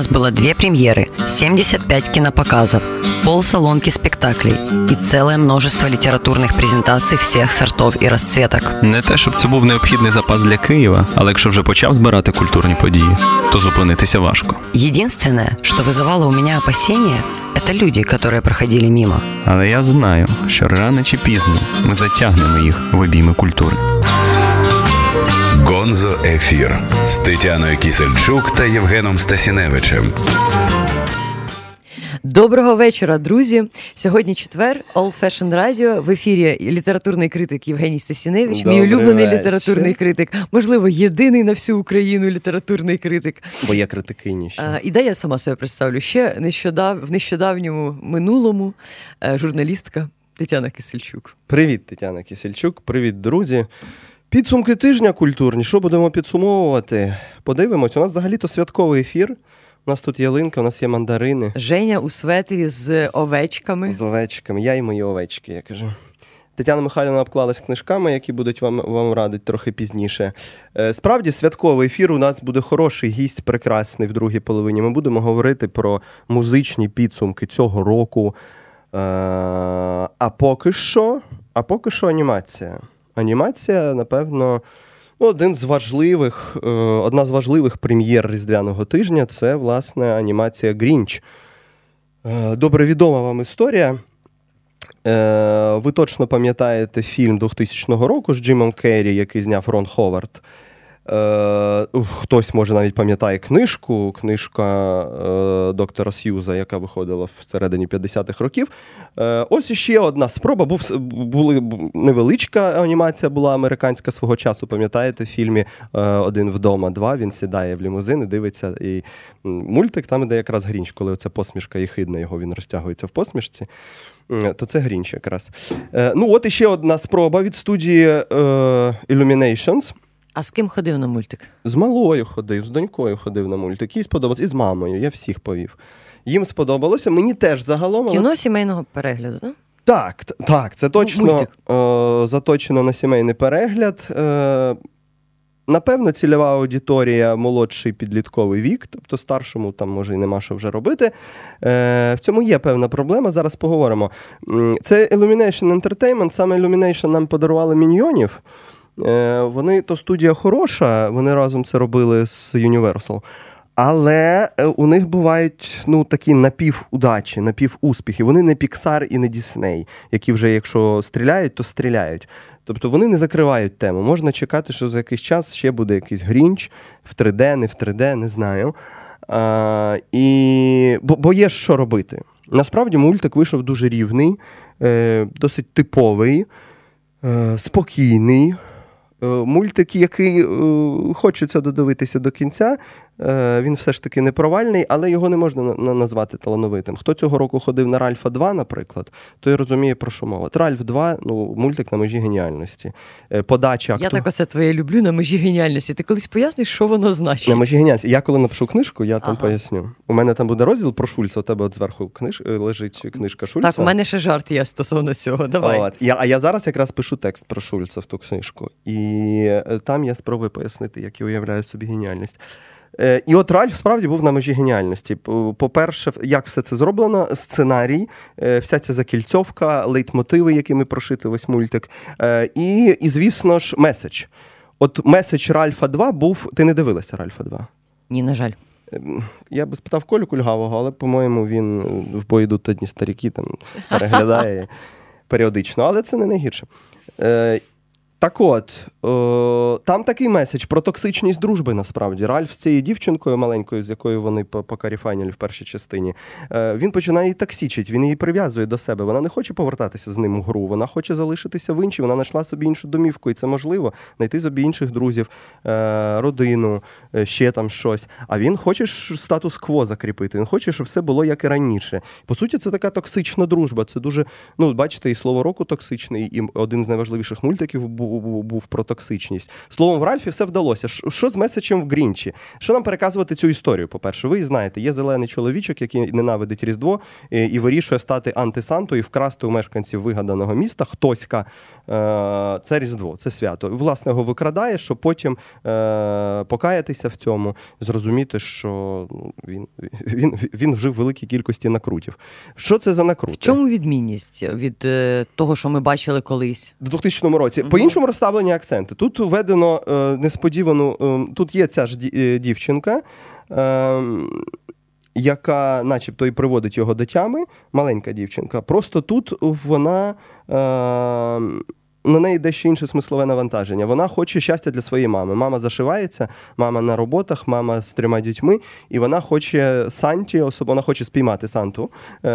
было 2 премьеры, 75 кинопоказов, полсалонки спектаклей и целое множество литературных презентаций всех сортов и расцветок. Не те, щоб це був необхідний запас для Києва, але якщо вже почав збирати культурні події, то зупинитися важко. Единственное, что вызывало у меня опасения, это люди, которые проходили мимо. Але я знаю, що рано чи пізно ми затягнемо їх в обійми культури. Гонзо Ефір з Тетяною Кісельчук та Євгеном Стасіневичем. Доброго вечора, друзі. Сьогодні четвер, All Fashion Radio. В ефірі літературний критик Євгеній Стасіневич, мій улюблений літературний критик. Можливо, єдиний на всю Україну літературний критик. Бо я критикиніше. І дай я сама себе представлю. Ще в нещодавньому минулому журналістка Тетяна Кісельчук. Привіт, Тетяна Кісельчук. Привіт, друзі. Підсумки тижня культурні. Що будемо підсумовувати? Подивимось. У нас взагалі-то святковий ефір. У нас тут ялинка, у нас є мандарини. Женя у светрі з овечками. З овечками. Я і мої овечки, я кажу. Тетяна Михайлівна обклалась книжками, які будуть вам радити трохи пізніше. Справді, святковий ефір. У нас буде хороший гість, прекрасний в другій половині. Ми будемо говорити про музичні підсумки цього року. А поки що анімація. Анімація, напевно, одна з важливих прем'єр різдвяного тижня – це, власне, анімація «Грінч». Добре відома вам історія. Ви точно пам'ятаєте фільм 2000 року з Джимом Керрі, який зняв Рон Ховард. Хтось, може, навіть пам'ятає книжка доктора Сьюза, яка виходила всередині 50-х років. Ось іще одна спроба. Невеличка анімація була американська свого часу, пам'ятаєте, в фільмі «Один вдома 2», він сідає в лімузин і дивиться. І мультик, там іде якраз Грінч, коли оця посмішка єхидна його, він розтягується в посмішці. То це Грінч якраз. От іще одна спроба від студії Illuminations. А з ким ходив на мультик? З малою ходив, з донькою ходив на мультик. Їй сподобалось. І з мамою, я всіх повів. Їм сподобалося, мені теж загалом. Кіно сімейного перегляду, так? Так, це точно заточено на сімейний перегляд. Напевно, цільова аудиторія – молодший підлітковий вік, тобто старшому там, може, і нема що вже робити. В цьому є певна проблема, зараз поговоримо. Це Illumination Entertainment, саме Illumination нам подарували «Міньйонів». Вони, то студія хороша, вони разом це робили з Universal, але у них бувають такі напівудачі, напівуспіхи. Вони не Pixar і не Disney, які вже, якщо стріляють, то стріляють. Тобто вони не закривають тему. Можна чекати, що за якийсь час ще буде якийсь Грінч в 3D, не в 3D, не знаю. Бо є що робити. Насправді мультик вийшов дуже рівний, досить типовий, спокійний. Мультик, який хочеться додивитися до кінця, він все ж таки не провальний, але його не можна назвати талановитим. Хто цього року ходив на Ральфа 2, наприклад, той розуміє, про що мова. Ральф 2, мультик на межі геніальності. Подача Я так оце твоє люблю, на межі геніальності. Ти колись поясниш, що воно значить? На межі геніальності. Я коли напишу книжку, я там поясню. У мене там буде розділ про Шульца, у тебе от зверху лежить книжка Шульца. Так, у мене ще жарт є стосовно цього, давай. А я зараз якраз пишу текст про Шульца в ту книжку. І там я спробую пояснити, як я уявляю собі геніальність. І от Ральф справді був на межі геніальності. По-перше, як все це зроблено, сценарій, вся ця закільцьовка, лейтмотиви, якими прошити весь мультик, і звісно ж, меседж. От меседж Ральфа 2 був... Ти не дивилася Ральфа 2? Ні, на жаль. Я би спитав Колю Кульгавого, але, по-моєму, він в бой йдуть одні старіки, там переглядає періодично, але це не найгірше. Так от, там такий меседж про токсичність дружби, насправді. Ральф з цією дівчинкою маленькою, з якою вони покаріфайнили в першій частині, він починає її токсичити, він її прив'язує до себе. Вона не хоче повертатися з ним у гру, вона хоче залишитися в іншій, вона знайшла собі іншу домівку, і це можливо, знайти собі інших друзів, родину, ще там щось. А він хоче статус-кво закріпити, він хоче, щоб все було як і раніше. По суті, це така токсична дружба, це дуже, бачите, і слово року токсичний, і один з найважливіших мультиків був був про токсичність. Словом, в Ральфі все вдалося. Що з меседжем в Грінчі? Що нам переказувати цю історію? По-перше, ви знаєте, є зелений чоловічок, який ненавидить Різдво і вирішує стати антисантою і вкрасти у мешканців вигаданого міста хтоська. Це Різдво, це свято. Власне, його викрадає, щоб потім покаятися в цьому, зрозуміти, що він вжив великій кількості накрутів. Що це за накрути? В чому відмінність від того, що ми бачили колись? В 2000 році. По-іншому розставлені акценти. Тут введено несподівану... Тут є ця ж дівчинка, яка начебто і приводить його до тями, маленька дівчинка. Просто тут вона... На неї дещо інше смислове навантаження. Вона хоче щастя для своєї мами. Мама зашивається, мама на роботах, мама з 3 дітьми, і вона хоче Санті, вона хоче спіймати Санту,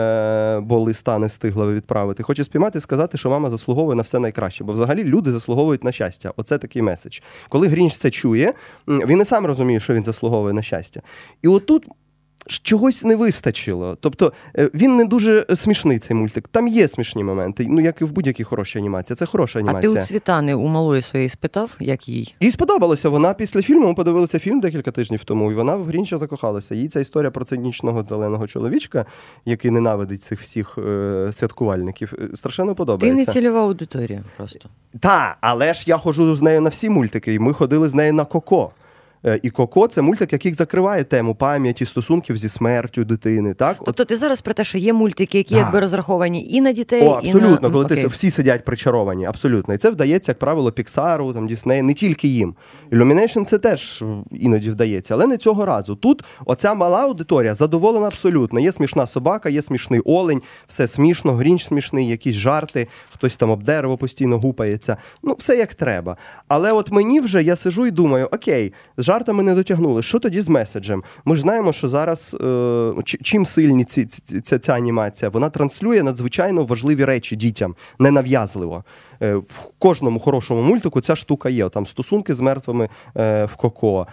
бо листа не встигла відправити. Хоче спіймати і сказати, що мама заслуговує на все найкраще. Бо взагалі люди заслуговують на щастя. Оце такий меседж. Коли Грінч це чує, він і сам розуміє, що він заслуговує на щастя. І отут чогось не вистачило. Тобто він не дуже смішний, цей мультик. Там є смішні моменти, як і в будь-якій хорошій анімації. Це хороша анімація. А ти у Світлани, у малої своєї спитав, як їй? Їй сподобалося. Вона після фільму, ми подивилися фільм декілька тижнів тому, і вона в Грінча закохалася. Їй ця історія про цинічного зеленого чоловічка, який ненавидить цих всіх святкувальників, страшенно подобається. Ти не цільова аудиторія просто. Так, але ж я ходжу з нею на всі мультики, і ми ходили з нею на Коко. І «Коко» – це мультик, який закриває тему пам'яті, стосунків зі смертю дитини. Так? Тобто ти зараз про те, що є мультики, які якби розраховані і на дітей, абсолютно, і на... коли всі сидять причаровані, абсолютно. І це вдається, як правило, Піксару, Діснею, не тільки їм. Illumination це теж іноді вдається, але не цього разу. Тут оця мала аудиторія задоволена абсолютно. Є смішна собака, є смішний олень, все смішно, Грінч смішний, якісь жарти, хтось там об дерево постійно гупається. Все як треба. Але от мені вже, я сиджу і думаю, окей, жартами не дотягнули. Що тоді з меседжем? Ми ж знаємо, що зараз чим сильні ця анімація? Вона транслює надзвичайно важливі речі дітям, ненав'язливо. В кожному хорошому мультику ця штука є. Там стосунки з мертвими в Коко,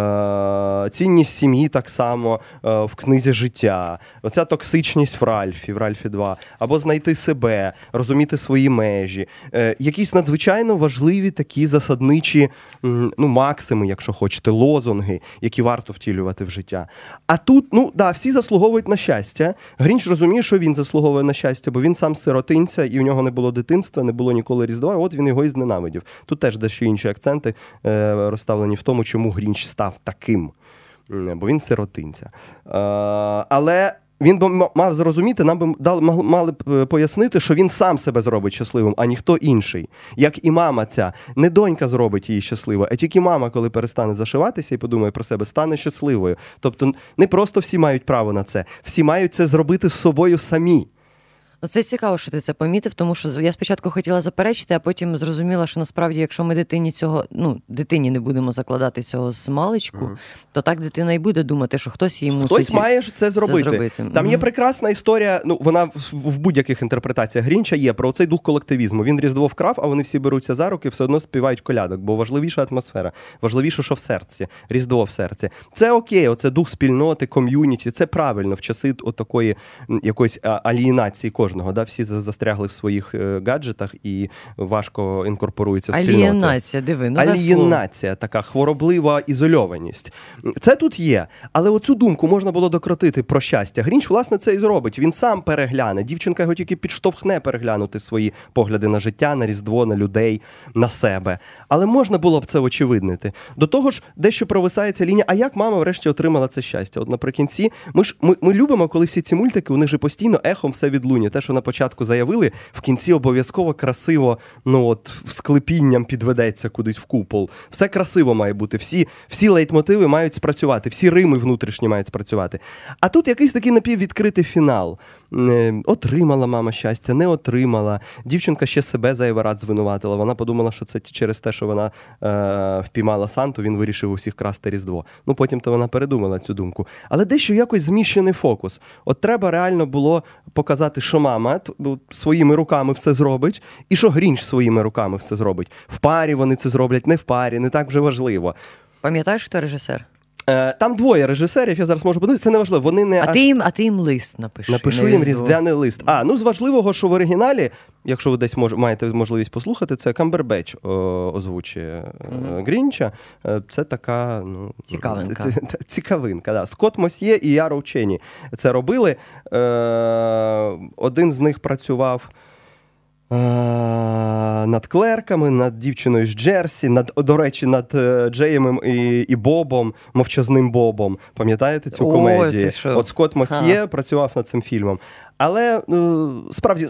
цінність сім'ї так само в книзі «Життя», оця токсичність в Ральфі 2, або знайти себе, розуміти свої межі. Якісь надзвичайно важливі такі засадничі максими, якщо хочете, лозунги, які варто втілювати в життя. А тут, всі заслуговують на щастя. Грінч розуміє, що він заслуговує на щастя, бо він сам сиротинця, і у нього не було дитинства, не було ніколи Різдва, от він його і зненавидів. Тут теж дещо інші акценти розставлені в тому, чому Грінч став таким, бо він сиротинця. Але він би мав зрозуміти, нам би мали б пояснити, що він сам себе зробить щасливим, а ніхто інший. Як і мама ця. Не донька зробить її щасливою, а тільки мама, коли перестане зашиватися і подумає про себе, стане щасливою. Тобто не просто всі мають право на це, всі мають це зробити з собою самі. Це цікаво, що ти це помітив, тому що я спочатку хотіла заперечити, а потім зрозуміла, що насправді, якщо ми дитині не будемо закладати цього з маличку, то так дитина і буде думати, що хтось їй мусить Хтось має це зробити. Там є прекрасна історія, вона в будь-яких інтерпретаціях Грінча є, про цей дух колективізму. Він Різдво вкрав, а вони всі беруться за руки, все одно співають колядок, бо важливіша атмосфера, важливіше, що в серці, Різдво в серці. Це окей, оце дух спільноти, ком'юніті, це правильно в часи отакої якоїсь алієнації кожного. Всі застрягли в своїх гаджетах і важко інкорпоруються в спільноту. Алієнація, диви. Алієнація, така хвороблива ізольованість. Це тут є, але оцю думку можна було докрутити про щастя. Грінч, власне, це і зробить. Він сам перегляне. Дівчинка його тільки підштовхне переглянути свої погляди на життя, на Різдво, на людей, на себе. Але можна було б це очевиднити. До того ж, дещо провисається лінія, а як мама врешті отримала це щастя? От наприкінці, ми любимо, коли всі ці мультики, у них же постійно ехом все відлунює. Те, що на початку заявили, в кінці обов'язково красиво, склепінням підведеться кудись в купол. Все красиво має бути, всі лейтмотиви мають спрацювати, всі рими внутрішні мають спрацювати. А тут якийсь такий напіввідкритий фінал. Отримала мама щастя, не отримала. Дівчинка ще себе зайвий раз звинуватила. Вона подумала, що це через те, що вона впіймала Санту, він вирішив усіх красти Різдво. Потім-то вона передумала цю думку. Але дещо якось зміщений фокус. От треба реально було показати, що мама своїми руками все зробить, і що Грінч своїми руками все зробить. В парі вони це зроблять, не в парі, не так вже важливо. Пам'ятаєш, хто режисер? Там двоє режисерів, я зараз можу подивитися, це не важливо. Вони не А ти їм лист напиши. Напишу їм різдвяний лист. З важливого, що в оригіналі, якщо ви десь маєте можливість послухати, це Камбербетч озвучує Грінча. Це така цікавинка. Да. Скотт Мосьє і Яро Ченні це робили. Один з них працював над клерками, над дівчиною з Джерсі, до речі, над Джеємом і Бобом, мовчазним Бобом. Пам'ятаєте цю комедію? От Скотт Мосьє працював над цим фільмом. Але справді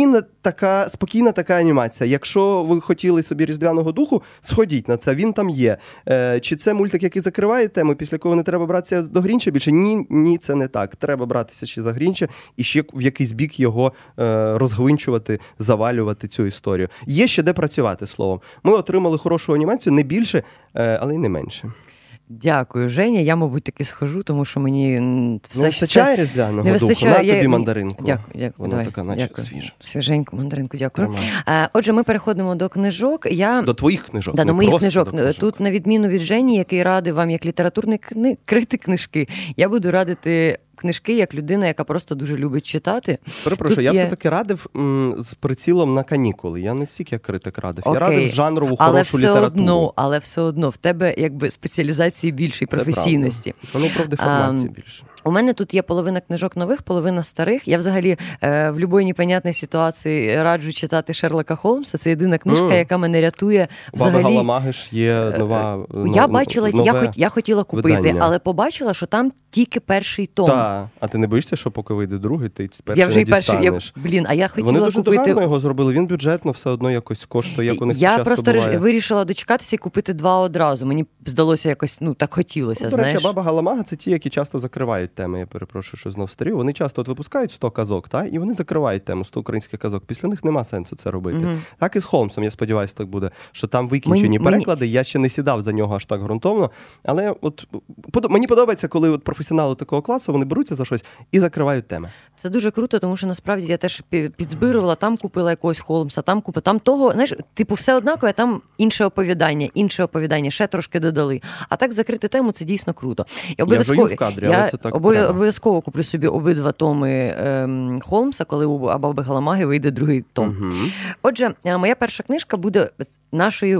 спокійна така анімація. Якщо ви хотіли собі різдвяного духу, сходіть на це, він там є. Чи це мультик, який закриває тему, після якого не треба братися до Грінча більше? Ні, це не так. Треба братися ще за Грінча і ще в якийсь бік його розгвинчувати, завалювати цю історію. Є ще де працювати, словом. Ми отримали хорошу анімацію, не більше, але й не менше. Дякую, Женя. Я, мабуть, таки схожу, тому що мені все вистачає різдвяного духу. На тобі мандаринку. Дякую. Вона така, наче свіжа. Свіженьку мандаринку, дякую. Отже, ми переходимо до книжок. До твоїх книжок. До моїх книжок. Тут, на відміну від Жені, який радив вам як літературний критик книжки, я буду радити книжки як людина, яка просто дуже любить читати. Перепрошую, я все-таки радив з прицілом на канікули. Я не стільки як критик радив. Я радив жанрову хорошу літературу. Але все одно в тебе якби спеціалізації більше і професійності. Вони про деформацію більше. У мене тут є половина книжок нових, половина старих. Я взагалі в будь-якій непонятній ситуації раджу читати Шерлока Холмса. Це єдина книжка, яка мене рятує взагалі. Баби Галамаги ж є нова. Я бачила, я хотіла купити, видання. Але побачила, що там тільки перший том. Так, а ти не боїшся, що поки вийде другий, ти перший не дістанеш? Я хотіла Вони дуже купити. догарно його зробили, він бюджетно все одно якось коштує, як у них часто буває. Я просто вирішила дочекатися і купити два одразу. Мені здалося якось, так хотілося, до речі, Баба Галамага – це ті, які часто закривають теми, я перепрошую, що знов старі. Вони часто випускають 100 казок, і вони закривають тему 100 українських казок. Після них нема сенсу це робити. Так і з Холмсом, я сподіваюся, так буде, що там викінчені переклади. Я ще не сідав за нього аж так ґрунтовно, але мені подобається, коли професіонали такого класу, вони беруться за щось і закривають теми. Це дуже круто, тому що насправді я теж підзбирувала, там купила якогось Холмса, там купила, там того, знаєш, все однакове, там інше оповідання, ще трошки додали. А так закрити тему – це дійсно круто. Я вже в кадрі, але це так обов'язково куплю собі обидва томи Холмса, коли у Баби Галамаги вийде другий том. Отже, моя перша книжка буде нашої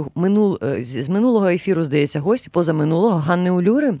з минулого ефіру, здається, гості, позаминулого, Ганни Улюри.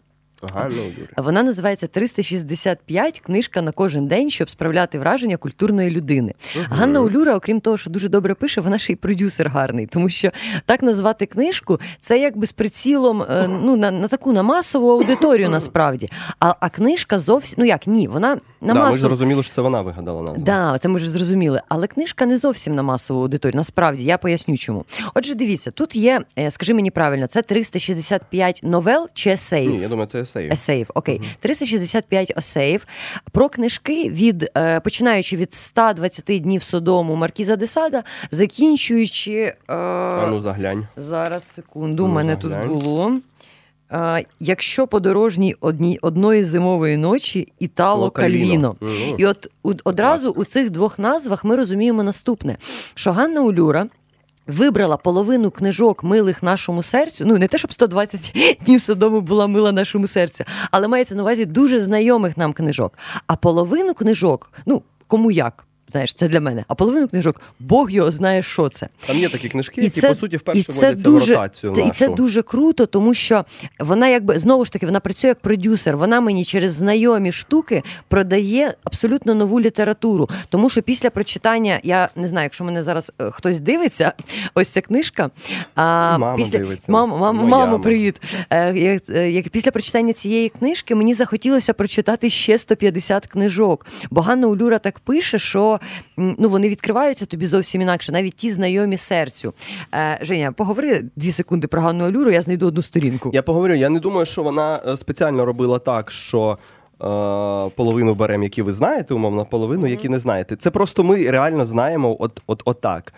Вона називається «365. Книжка на кожен день, щоб справляти враження культурної людини». Ганна Улюра, окрім того, що дуже добре пише, вона ще й продюсер гарний, тому що так назвати книжку – це якби з прицілом на таку на масову аудиторію насправді. А книжка зовсім, вона на масову... Ми ж зрозуміли, що це вона вигадала назву. Так, це ми ж зрозуміли. Але книжка не зовсім на масову аудиторію, насправді, я поясню чому. Отже, дивіться, тут є, скажи мені правильно, це 365 новел чи есеїв? Ні, я думаю, це есеїв, окей. 365 есеїв про книжки починаючи від 120 днів Содому Маркіза де Сада, закінчуючи... заглянь. Зараз, секунду, у мене тут було... «Якщо подорожній одної зимової ночі» Італо Кальвіно. І одразу у цих двох назвах ми розуміємо наступне, що Ганна Улюра вибрала половину книжок милих нашому серцю, не те, щоб 120 днів Содому була мила нашому серцю, але мається на увазі дуже знайомих нам книжок. А половину книжок, кому як, знаєш, це для мене. А половину книжок, Бог його знає, що це. Там є такі книжки, які, по суті, вперше вводяться в ротацію нашу. І це дуже круто, тому що вона знову ж таки, вона працює як продюсер. Вона мені через знайомі штуки продає абсолютно нову літературу. Тому що після прочитання, я не знаю, якщо мене зараз хтось дивиться, ось ця книжка. Мама дивиться. Мамо, привіт. Після прочитання цієї книжки мені захотілося прочитати ще 150 книжок. Бо Ганна Улюра так пише, що вони відкриваються тобі зовсім інакше, навіть ті знайомі серцю. Женя, поговори 2 секунди про Ганну Улюру, я знайду одну сторінку. Я поговорю, я не думаю, що вона спеціально робила так, що половину беремо, які ви знаєте, умовно, половину, які не знаєте. Це просто ми реально знаємо отак.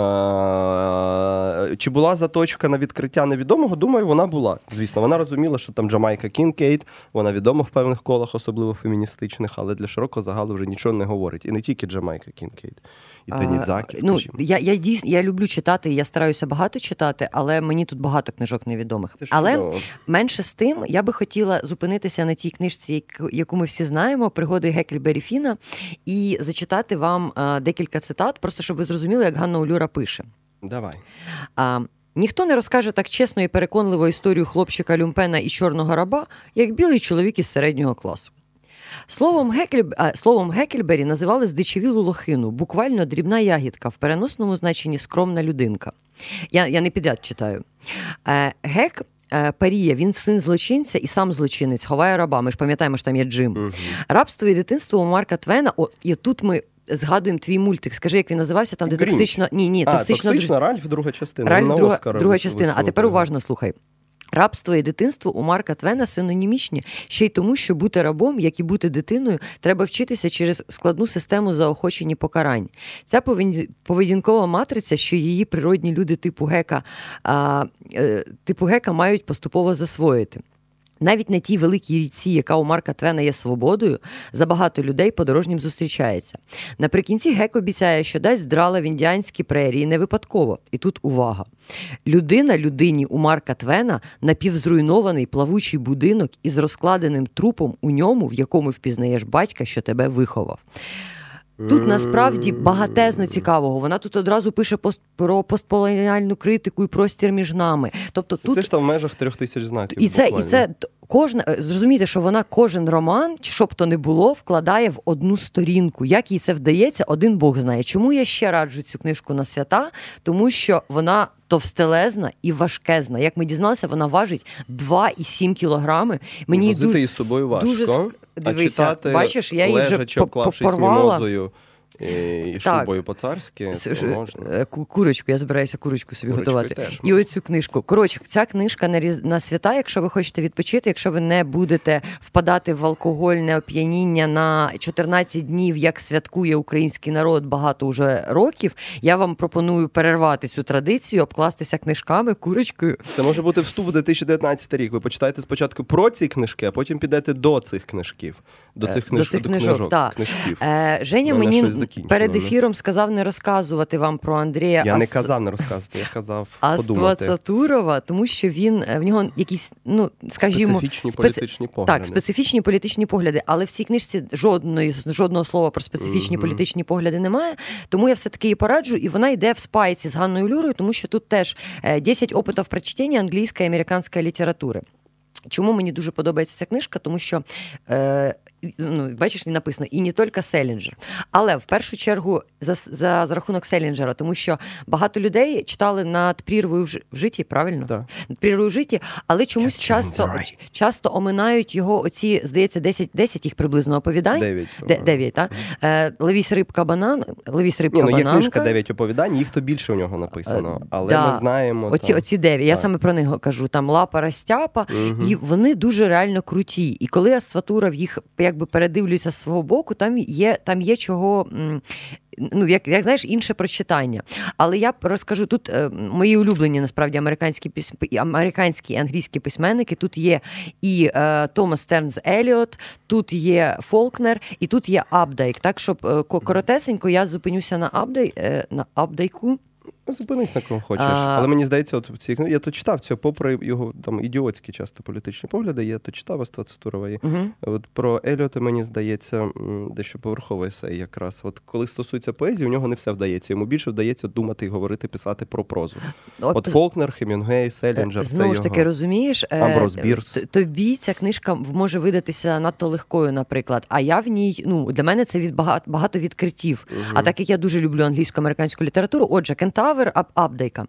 Чи була заточка на відкриття невідомого? Думаю, вона була. Звісно, вона розуміла, що там Джамайка Кінкейд, вона відома в певних колах, особливо феміністичних, але для широкого загалу вже нічого не говорить. І не тільки Джамайка Кінкейд. І Танідзакі, скажімо. Я люблю читати, я стараюся багато читати, але мені тут багато книжок невідомих. Але менше з тим, я би хотіла зупинитися на тій книжці, яку ми всі знаємо, «Пригоди Гекльбері Фіна», і зачитати вам декілька цитат, просто щоб ви зрозуміли, як Ганна Улюра пише. Давай. Ніхто не розкаже так чесно і переконливо історію хлопчика Люмпена і чорного раба, як білий чоловік із середнього класу. Словом Гекльбері називали здичавілу лохину, буквально дрібна ягідка, в переносному значенні скромна людинка. Я не підряд читаю. Гек паріє, він син злочинця і сам злочинець, ховає раба. Ми ж пам'ятаємо, що там є Джим. Угу. Рабство і дитинство у Марка Твена. І тут ми згадуємо твій мультик. Скажи, як він називався? Там, де токсично... Токсична Ральф, друга частина. Ральф, друга частина. А тепер уважно слухай. Рабство і дитинство у Марка Твена синонімічні, ще й тому, що бути рабом, як і бути дитиною, треба вчитися через складну систему заохочень і покарань. Ця поведінкова матриця, що її природні люди типу Гека мають поступово засвоїти. Навіть на тій великій річці, яка у Марка Твена є свободою, забагато людей подорожнім зустрічається. Наприкінці Гек обіцяє, що дасть драла в індіанські прерії не випадково. І тут увага. Людина людині у Марка Твена напівзруйнований плавучий будинок із розкладеним трупом у ньому, в якому впізнаєш батька, що тебе виховав. Тут насправді багатезно цікавого. Вона тут одразу пише про постколоніальну критику і простір між нами. Тобто тут це ж там в межах 3000 знаків. І це зрозумійте, що вона кожен роман, що б то не було, вкладає в одну сторінку. Як їй це вдається, один Бог знає. Чому я ще раджу цю книжку на свята? Тому що вона товстелезна і важкезна. Як ми дізналися, вона важить 2,7 кілограми. Мені возити її з собою важко. Дивися, читати, бачиш, я її вже порвала. І шубою по-царськи можна. Курочку, я збираюся курочку собі готувати. І оцю книжку. Коротше, ця книжка на свята, якщо ви хочете відпочити, якщо ви не будете впадати в алкогольне оп'яніння на 14 днів, як святкує український народ багато уже років, я вам пропоную перервати цю традицію, обкластися книжками, курочкою. Це може бути вступ у 2019 рік. Ви почитаєте спочатку про ці книжки, а потім підете до цих книжків. До цих книжок. Женя мені перед ефіром сказав не розказувати вам про Андрія. Я не казав не розказувати, я казав подумати. Аствацатурова, тому що в нього якісь, скажімо... Специфічні політичні погляди. Так, специфічні політичні погляди, але в цій книжці жодного слова про специфічні політичні погляди немає, тому я все-таки її пораджу, і вона йде в спайці з Ганною Улюрою, тому що тут теж 10 опитів прочтення англійської і американської літератури. Чому мені дуже подобається ця книжка? Тому що, бачиш, не написано, і не тільки Селінджер. Але в першу чергу за рахунок Селінджера, тому що багато людей читали над прірвою в житті, правильно? Так. Над прірвою в житті, але чомусь часто оминають його оці, здається, 10 їх приблизно оповідань. 9, так? Левіс рибка бананка. Є книжка 9 оповідань, їх то більше у нього написано. Але ми знаємо... Оці 9, я саме про них кажу. Там Лапа Растяпа, і вони дуже реально круті. І коли Аствацатуров їх якби передивлюся з свого боку, там є чого, як знаєш, інше прочитання. Але я розкажу, тут мої улюблені, насправді, американські і англійські письменники. Тут є і Томас Стернс Еліот, тут є Фолкнер, і тут є Апдайк. Так, щоб коротесенько я зупинюся на Апдайку. Зупинись на кого хочеш. Але мені здається, я то читав цього, попри його там ідіотські часто політичні погляди, я то читав Аствацатурова. От про Еліота, мені здається, дещо поверховий есей якраз. От коли стосується поезії, у нього не все вдається. Йому більше вдається думати, говорити, писати про прозу. От Фолкнер, Хемінгуей, Селінджер, це знову ж таки, розумієш, Амброс Бірс. Тобі ця книжка може видатися надто легкою, наприклад. А я в ній, для мене це багато відкриттів. А так як я дуже люблю англійсько-американську літературу, отже, Кентавр, Апдайка.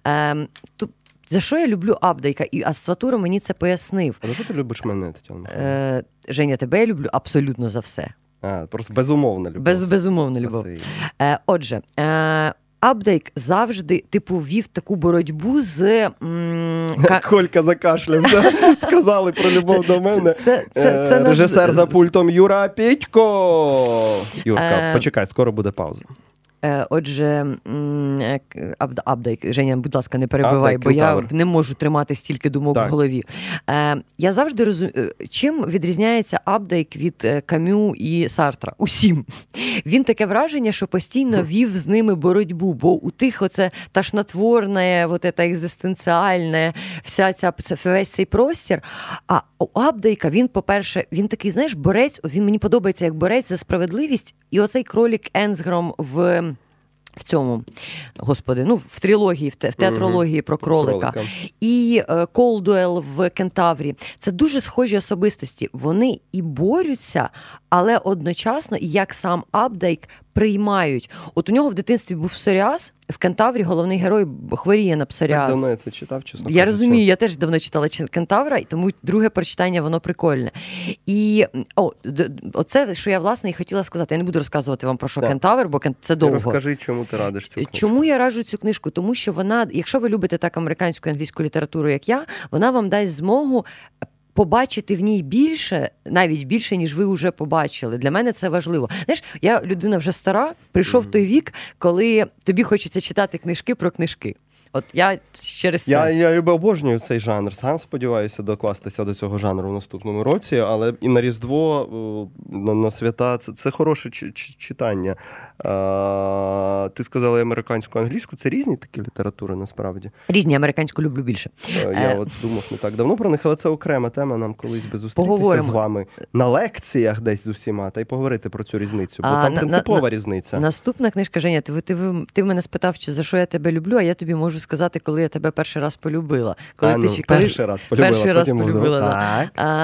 За що я люблю Апдайка? І Аствацатуров мені це пояснив. А за що ти любиш мене, Тетяна? Женя, тебе я люблю абсолютно за все. Просто безумовна любов. Безумовна любов. Отже, Апдейк завжди, вів таку боротьбу з... Колька закашлявся. Сказали про любов до мене. Це режисер за пультом Юра Пітько. Юрка, почекай, скоро буде пауза. Отже, Апдейк, Женя, будь ласка, не перебивай, бо я не можу тримати стільки думок в голові. Я завжди розумію, чим відрізняється Апдейк від Камю і Сартра? Усім. Він таке враження, що постійно вів з ними боротьбу, бо у тих оце ташнотворне, екзистенціальне, весь цей простір. А у Апдейка він, по-перше, він такий, знаєш, борець, він мені подобається як борець за справедливість, і оцей кролік Енсгром в цьому, господи, в трилогії, в театрології про кролика. І Колдуел в Кентаврі. Це дуже схожі особистості. Вони і борються, але одночасно, як сам Апдейк, приймають. От у нього в дитинстві був псоріаз, в Кентаврі головний герой хворіє на псоріаз. Так давно я це читав, чесно кажучи. Я розумію, я теж давно читала Кентавра, і тому друге прочитання, воно прикольне. І оце, що я, власне, і хотіла сказати. Я не буду розказувати вам про що Кентавр, бо це довго. Розкажи, чому ти радиш цю книжку. Чому я раджу цю книжку? Тому що вона, якщо ви любите так американську і англійську літературу, як я, вона вам дасть змогу побачити в ній більше, навіть більше, ніж ви вже побачили. Для мене це важливо. Знаєш, я людина вже стара, прийшов той вік, коли тобі хочеться читати книжки про книжки. От я через це. Я обожнюю цей жанр. Сам сподіваюся докластися до цього жанру в наступному році, але і на Різдво, на свята це хороше читання. Ти сказала американську, англійську. Це різні такі літератури, насправді? Різні, американську люблю більше. Я от думав не так давно про них, але це окрема тема, нам колись би зустрітися з вами на лекціях десь з усіма, та й поговорити про цю різницю, бо там принципова різниця. Наступна книжка, Женя, ти мене спитав, за що я тебе люблю, а я тобі можу сказати, коли я тебе перший раз полюбила. Перший раз полюбила.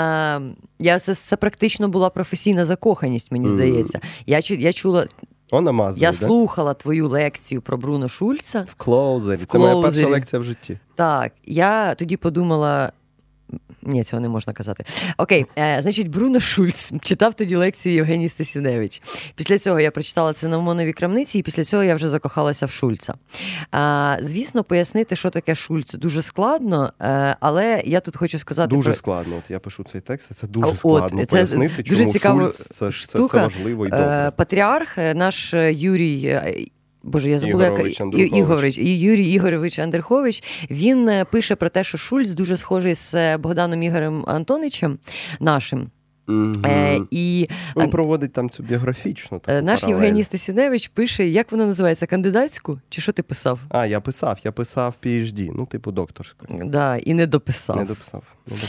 Це практично була професійна закоханість, мені здається. Я чула... Я слухала твою лекцію про Бруно Шульца. В Клоузері. Це моя перша лекція в житті. Так, я тоді подумала... Ні, цього не можна казати. Окей, значить, Бруно Шульц читав тоді лекцію Євгеній Стасіневич. Після цього я прочитала «Цинамонові крамниці», і після цього я вже закохалася в Шульца. Звісно, пояснити, що таке Шульц, дуже складно, але я тут хочу сказати... Дуже складно. От я пишу цей текст, це дуже складно пояснити, чому Шульц це важливо і добре. Патріарх, наш Юрій... Боже, я забула, Юрій Ігорович Андерхович, він пише про те, що Шульц дуже схожий з Богданом Ігорем Антоничем нашим. І він проводить там цю біографічну таку наш паралель. Євгеній Стасіневич пише, як воно називається, кандидатську? Чи що ти писав? Я писав PhD, типу докторську. Да, і не дописав. Не дописав.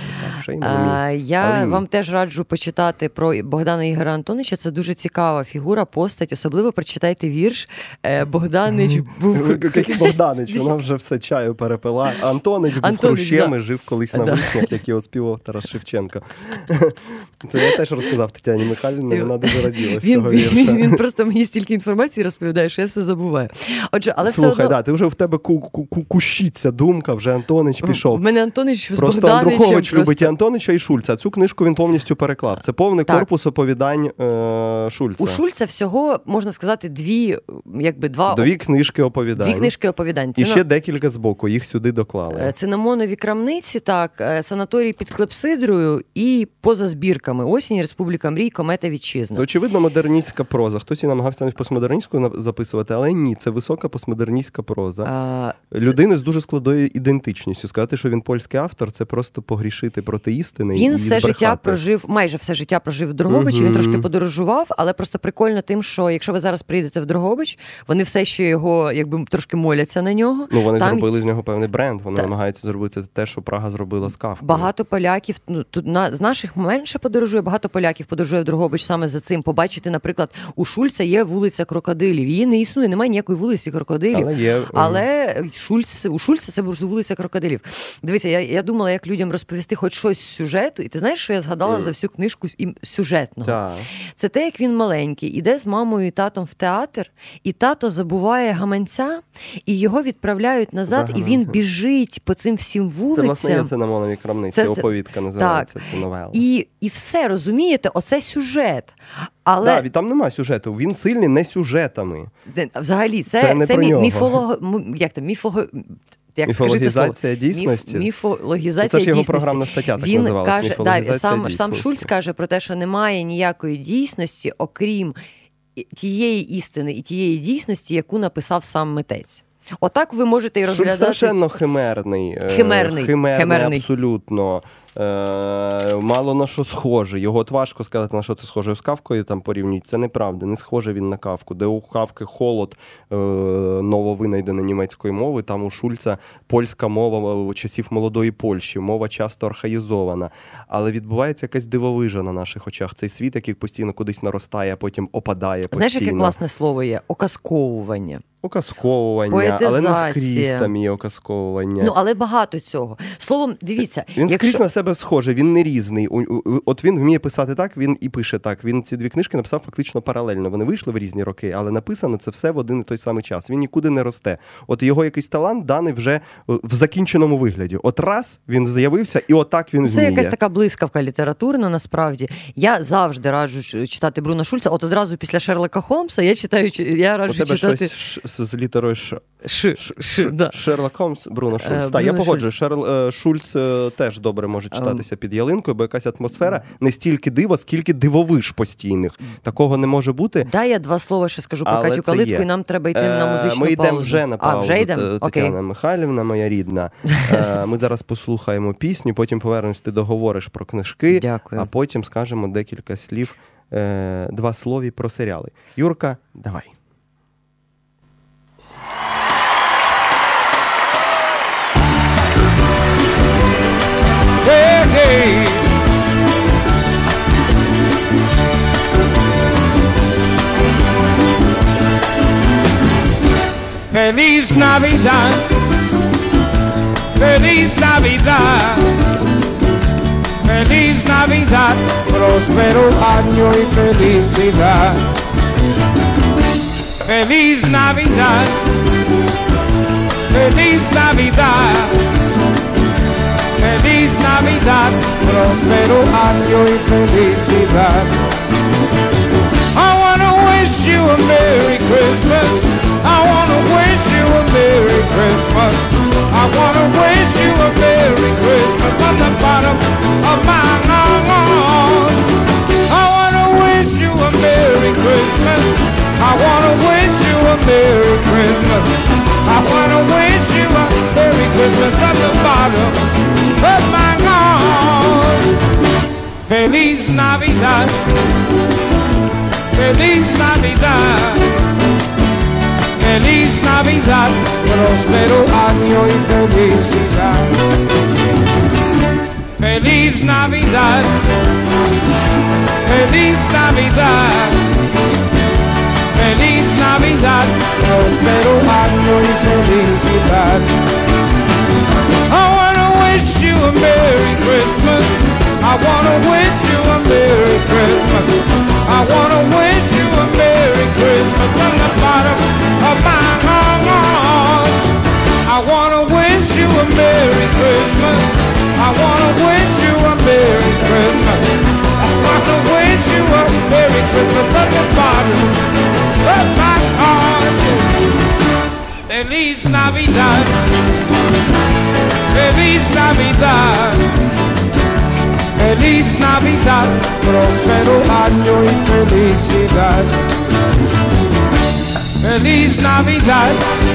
Я вам теж раджу почитати про Богдана Ігора Антонича, це дуже цікава фігура, постать, особливо прочитайте вірш «Богданич був...» Який Богданич? Вона вже все чаю перепила. Антонич був хрущем і жив колись на вишнях, як його співав Тарас Шевченко. Це я теж розказав Тетяні Михайлівні, вона дуже раділа з цього вірша. Він просто мені стільки інформації розповідає, що я все забуваю. Отже, але слухай, ти вже в тебе кущиться думка, вже Антонич пішов. В мене Антонич з Богданичем. Просто Андрухович любить і Антонича, і Шульца. Цю книжку він повністю переклав. Це повний корпус оповідань Шульца. У Шульца всього, можна сказати, дві книжки оповідань. І ще декілька збоку, їх сюди доклали. Цинамонові крамниці, так, санаторій під Клепсидрою і поза збірками «Осінь», «Республіка мрій», «Комета вітчизна». Це, очевидно, модерністська проза. Хтось і намагався постмодерністську записувати, але ні, це висока постмодерністська проза. Людини з дуже складною ідентичністю. Сказати, що він польський автор, це просто погрішити проти істини і збрехати. Майже все життя прожив в Дрогобичі, він трошки подорожував, але просто прикольно тим, що якщо ви зараз приїдете в Дрогобич, вони все ще його, трошки моляться на нього. Вони зробили з нього певний бренд, вони намагаються зробити те, що Прага зробила з Кафкою. Багато поляків, з наших менше подорожує, багато поляків подорожує в Дрогобич саме за цим. Побачити, наприклад, у Шульца є вулиця Крокодилів. Її не існує, немає ніякої вулиці Крокодилів. Але у Шульца це вулиця Крокодилів. Дивися, я думала, як людям розповісти хоч щось з сюжету, і ти знаєш, що я згадала за всю книжку сюжетного? Це те, як він маленький, іде з мамою і татом в театр, і тато забуває гаманця, і його відправляють назад, і він біжить по цим всім вулицям. Це, власне, є «Цинамонові крамниці», оповідка називається, це новела. І все оце, розумієте, оце сюжет. Але... Да, там немає сюжету, він сильний не сюжетами. Взагалі, це міфологізація дійсності. Міфологізація це ж його дійсності. програмна стаття так він називалась. Каже, сам Шульц каже про те, що немає ніякої дійсності, окрім тієї істини і тієї дійсності, яку написав сам митець. Отак ви можете і розглядати... Шульц страшенно химерний абсолютно. Мало на що схоже. Його от важко сказати, на що це схоже. З Кафкою там порівнюють. Це неправда. Не схоже він на Кафку. Де у Кафки холод нововинайденої німецької мови, там у Шульца польська мова часів молодої Польщі. Мова часто архаїзована. Але відбувається якась дивовижа на наших очах. Цей світ, який постійно кудись наростає, а потім опадає постійно. Знаєш, яке класне слово є? Оказковування. Поетизація. Але не скрізь там є оказковування. Але багато цього. Словом, дивіться. Він скрізь на себе схожий, він не різний. От він вміє писати так, він і пише так. Він ці дві книжки написав фактично паралельно. Вони вийшли в різні роки, але написано це все в один і той самий час. Він нікуди не росте. От його якийсь талант даний вже в закінченому вигляді. От раз він з'явився, і отак він вміє. Це якась така блискавка літературна, насправді. Я завжди раджу читати Бруно Шульца. От одразу після Шерлока Холмса я раджу читати... У тебе щось з літерою Ш. Да. Шерлок Холмс, Бруно Шульц. Так, я погоджую. Шульц теж добре може читатися під ялинкою, бо якась атмосфера не стільки дива, скільки дивовиж постійних. Такого не може бути. Дай я два слова ще скажу про Катю Калитку, і нам треба йти на музичну паузу. Ми йдемо вже на паузу. Вже йдемо? Тетяна Михайлівна, моя рідна. Ми зараз послухаємо пісню, потім повернемось, ти договориш про книжки, Дякую. А потім скажемо декілька слів, два слова про серіали. Юрка, давай. Hey, hey. Feliz Navidad, Feliz Navidad, Feliz Navidad, próspero año y felicidad. Feliz Navidad, Feliz Navidad, Feliz Navidad, próspero año y felicidad. I wanna wish you a Merry Christmas. I wanna wish you a Merry Christmas. I wanna wish you a Merry Christmas from the bottom of my heart. I wanna wish you a Merry Christmas. I wanna wish you a Merry Christmas. I wanna wish you a Merry Christmas from the bottom of my heart. Feliz Navidad, Feliz Navidad, Feliz Navidad, próspero año y felicidad. Feliz Navidad, Feliz Navidad, Feliz Navidad, próspero año y felicidad. I wanna wish you a Merry Christmas. I wanna wish you a Merry Christmas. I wanna wish you a Merry Christmas from the bottom of my heart. I wanna wish you a Merry Christmas. I wanna wish you a Merry Christmas. I wanna wish you a Merry Christmas from the bottom of my heart. Feliz Navidad, Feliz Navidad, Feliz Navidad, próspero año y felicidad. Feliz Navidad,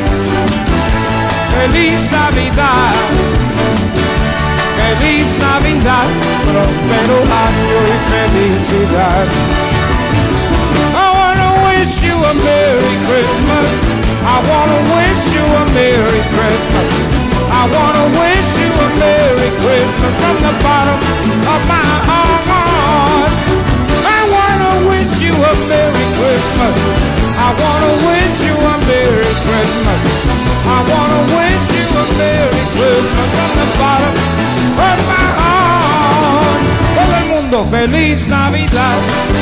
Feliz Navidad, Feliz Navidad, próspero año y felicidad. I wanna wish you a Merry Christmas. I wanna wish you a Merry Christmas. I wanna wish you a Merry Christmas from the bottom of my heart. I wanna wish you a Merry Christmas. I wanna wish you a Merry Christmas. I wanna wish you a Merry Christmas from the bottom of my heart. Todo el mundo, Feliz Navidad,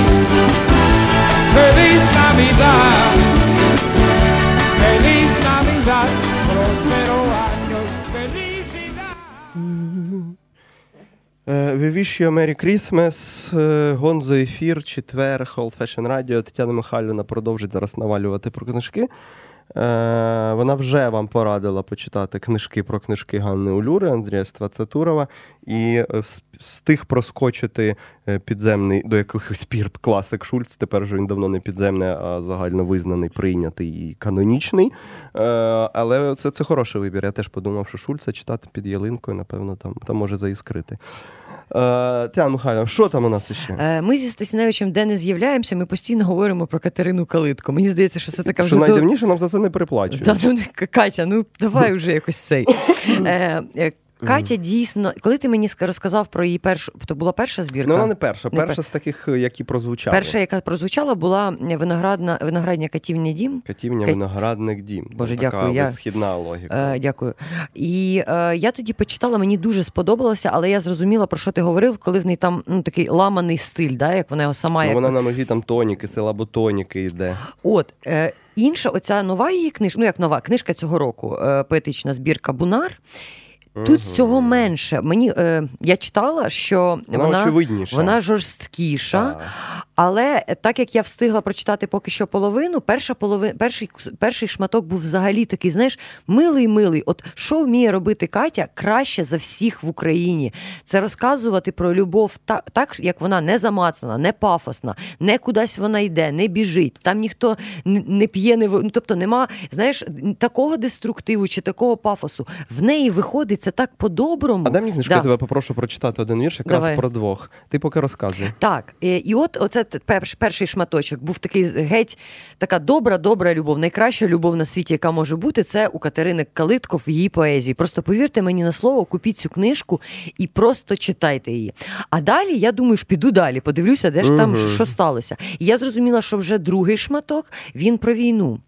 Feliz Navidad, Feliz Navidad, próspero año y felicidad. We wish you a Merry Christmas. Гонзо ефір, четвер, Old Fashion Radio. Тетяна Михайлівна продовжить зараз навалювати про книжки. Вона вже вам порадила почитати книжки про книжки Ганни Улюри, Андрія Ствацатурова і встиг проскочити підземний до якихось пір класик Шульц. Тепер вже він давно не підземний, а загально визнаний, прийнятий і канонічний. Але це хороший вибір. Я теж подумав, що Шульца читати під ялинкою, напевно, там може заіскрити. Тетяна Михайлівна, що там у нас ще? Ми зі Стасіневичем де не з'являємося, ми постійно говоримо про Катерину Калитко. Мені здається, що це така вже... Що найдивніше, нам за це не переплачують. Катя, давай вже якось цей. Катя дійсно, коли ти мені розказав про її першу, то була перша збірка? Вона не перша. Перша з таких, які прозвучали. Перша, яка прозвучала, була виноградня Катівня дім. Катівня, виноградник дім. Боже, така дякую. висхідна логіка. Дякую. І я тоді почитала, мені дуже сподобалося, але я зрозуміла, про що ти говорив, коли в неї там такий ламаний стиль, да, як вона його сама... Вона на нозі там тоніки, силаботоніки йде. От, інша оця нова її книжка, як нова, книжка цього року, поетична збірка «Бунар», тут цього менше. Я читала, що вона жорсткіша, але так як я встигла прочитати поки що половину, перший шматок був взагалі такий, знаєш, милий. От що вміє робити Катя краще за всіх в Україні? Це розказувати про любов так, як вона не замацана, не пафосна, не кудись вона йде, не біжить, там ніхто не п'є, тобто нема, знаєш, такого деструктиву чи такого пафосу. В неї виходить це так по-доброму. А дай мені книжку, я тебе попрошу прочитати один вірш, якраз про двох. Ти поки розказуй. Так, і от оце перший шматочок був такий геть, така добра любов, найкраща любов на світі, яка може бути, це у Катерини Калитко в її поезії. Просто повірте мені на слово, купіть цю книжку і просто читайте її. А далі, я думаю, ж піду далі, подивлюся, де ж там, що сталося. І я зрозуміла, що вже другий шматок, він про війну.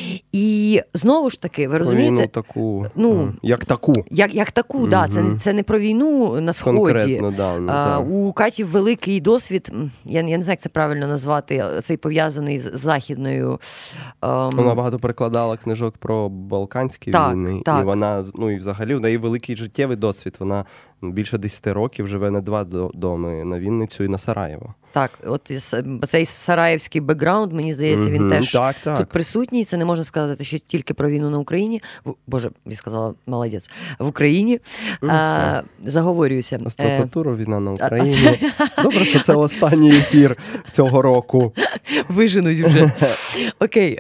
І знову ж таки, ви розумієте? Війну таку, як таку. Як таку, да. Це не про війну на Сході. Конкретно, да. У Каті великий досвід, я не знаю, як це правильно назвати, цей пов'язаний з західною... Вона багато перекладала книжок про Балканські війни. Так. І вона, і взагалі, в неї великий життєвий досвід. Вона більше 10 років живе на 2 доми, на Вінницю і на Сараєво. Так, от цей сараєвський бекграунд, мені здається, він теж тут присутній. Це не можна сказати, що тільки про війну на Україні. Боже, я сказала, молодець. В Україні. Заговорююся. Ствацатурова війна на Україні. Добре, що це останній ефір цього року. Виженуть вже. Окей.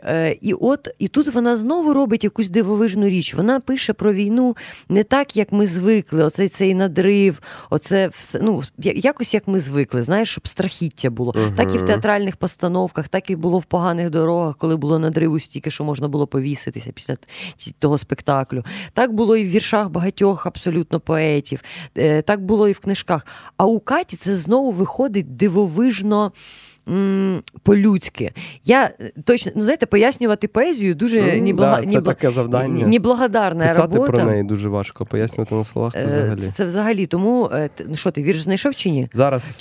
І тут вона знову робить якусь дивовижну річ. Вона пише про війну не так, як ми звикли. Цей надрив, якось як ми звикли, знаєш, щоб страхіття було. Так і в театральних постановках, так і було в поганих дорогах, коли було надриву стільки, що можна було повіситися після того спектаклю. Так було і в віршах багатьох абсолютно поетів. Так було і в книжках. А у Каті це знову виходить дивовижно по-людськи. Я точно, знаєте, пояснювати поезію дуже це таке завдання. Неблагодарна робота. Писати про неї дуже важко, пояснювати на словах це взагалі. Це взагалі, тому, що ти, вірш знайшов чи ні? Зараз.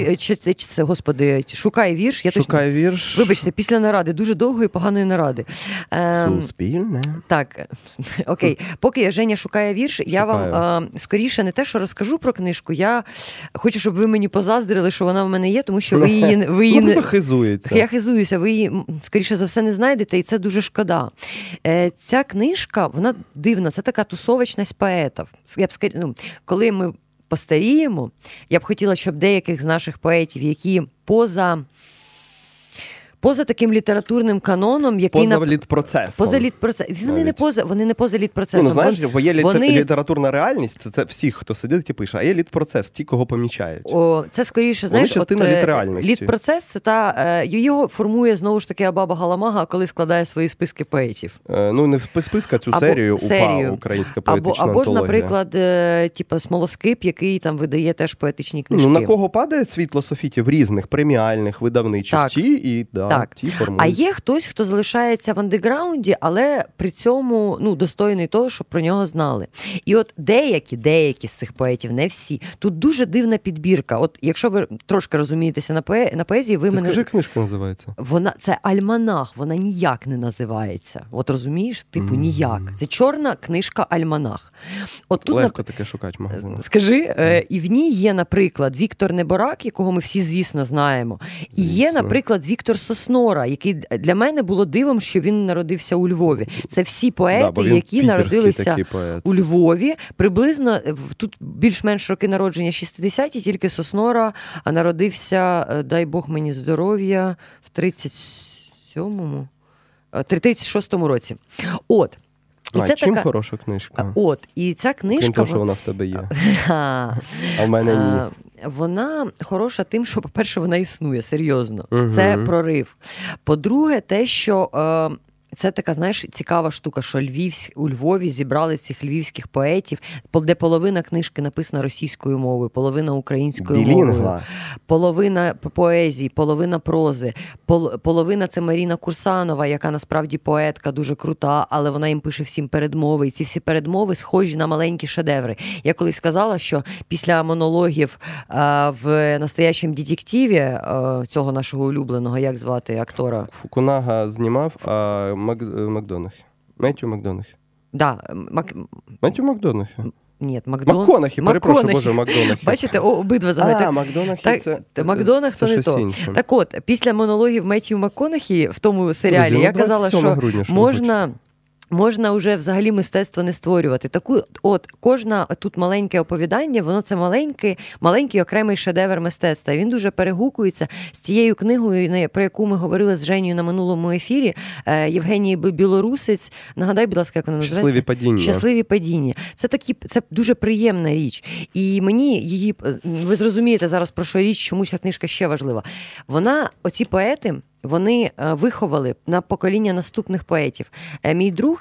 Шукай вірш. Шукай вірш. Вибачте, після наради, дуже довгої, поганої наради. Суспільне. Так, окей. Поки Женя шукає вірш, я вам скоріше не те, що розкажу про книжку, я хочу, щоб ви мені позаздрили, що вона в мене є, тому що ви її хизується. Я хизуюся, ви її, скоріше за все, не знайдете, і це дуже шкода. Ця книжка, вона дивна, це така тусовочність поетів. Коли ми постаріємо, я б хотіла, щоб деяких з наших поетів, які поза таким літературним каноном, який поза літпроцесом. Вони не поза літпроцесом. Знаєш, бо є літературна реальність, це всіх, хто сидить і пише, а є літпроцес, ті, кого помічають. Це скоріше, знаєш, частина літреальності. Літпроцес, це його формує знову ж таки Абаба Галамага, коли складає свої списки поетів. Не списка, цю серію УПА, українська поетична або ж, антологія. наприклад, Смолоскип, який там видає теж поетичні книжки. На кого падає світло софітів різних, преміальних, видавничих, ті і Так. ті формують. А є хтось, хто залишається в андеграунді, але при цьому достойний того, щоб про нього знали. І от деякі з цих поетів, не всі, тут дуже дивна підбірка. От якщо ви трошки розумієтеся на поезії, ви Ти мене... скажи, книжка називається? Це альманах, вона ніяк не називається. От розумієш? Ніяк. Це чорна книжка альманах. От тут легко таке шукати в магазинах. Скажи, і в ній є, наприклад, Віктор Неборак, якого ми всі, звісно, знаємо. І є, наприклад, Віктор Соснора, який для мене було дивом, що він народився у Львові. Це всі поети, які народилися у Львові. Приблизно, тут більш-менш роки народження 60-ті, тільки Соснора народився, дай Бог мені здоров'я, в 36-му році. От. І це чим така... хороша книжка? От, і ця книжка... Крім того, що вона в тебе є. А в мене ні. Вона хороша тим, що, по-перше, вона існує, серйозно. Це прорив. По-друге, те, що... Це така, знаєш, цікава штука, що у Львові зібрали цих львівських поетів, де половина книжки написана російською мовою, половина українською мовою, половина поезії, половина прози, половина – це Маріна Курсанова, яка насправді поетка, дуже крута, але вона їм пише всім передмови, і ці всі передмови схожі на маленькі шедеври. Я колись сказала, що після монологів в «Настоящем детективі» цього нашого улюбленого, як звати актора? Фукунага знімав, а Макдонахі. Меттью Макдонахі. Да, Меттью Макдонахі. Ні, Макконахі, перепрошую, Боже, Макдонахі. Бачите, обидва загадують. Макдонахі це... Макдонах це не то. Інше. Так от, після монологів Меттью Макконахі в тому серіалі я казала, що можна вже взагалі мистецтво не створювати. Кожна тут маленьке оповідання, воно це маленький окремий шедевр мистецтва. Він дуже перегукується з тією книгою, про яку ми говорили з Женєю на минулому ефірі, Євгенії Білорусець. Нагадай, будь ласка, як вона називається? «Щасливі падіння». Це дуже приємна річ. І мені її, ви зрозумієте зараз, про що річ, чому ця книжка ще важлива. Оці поети, вони виховали на покоління наступних поетів. Мій друг,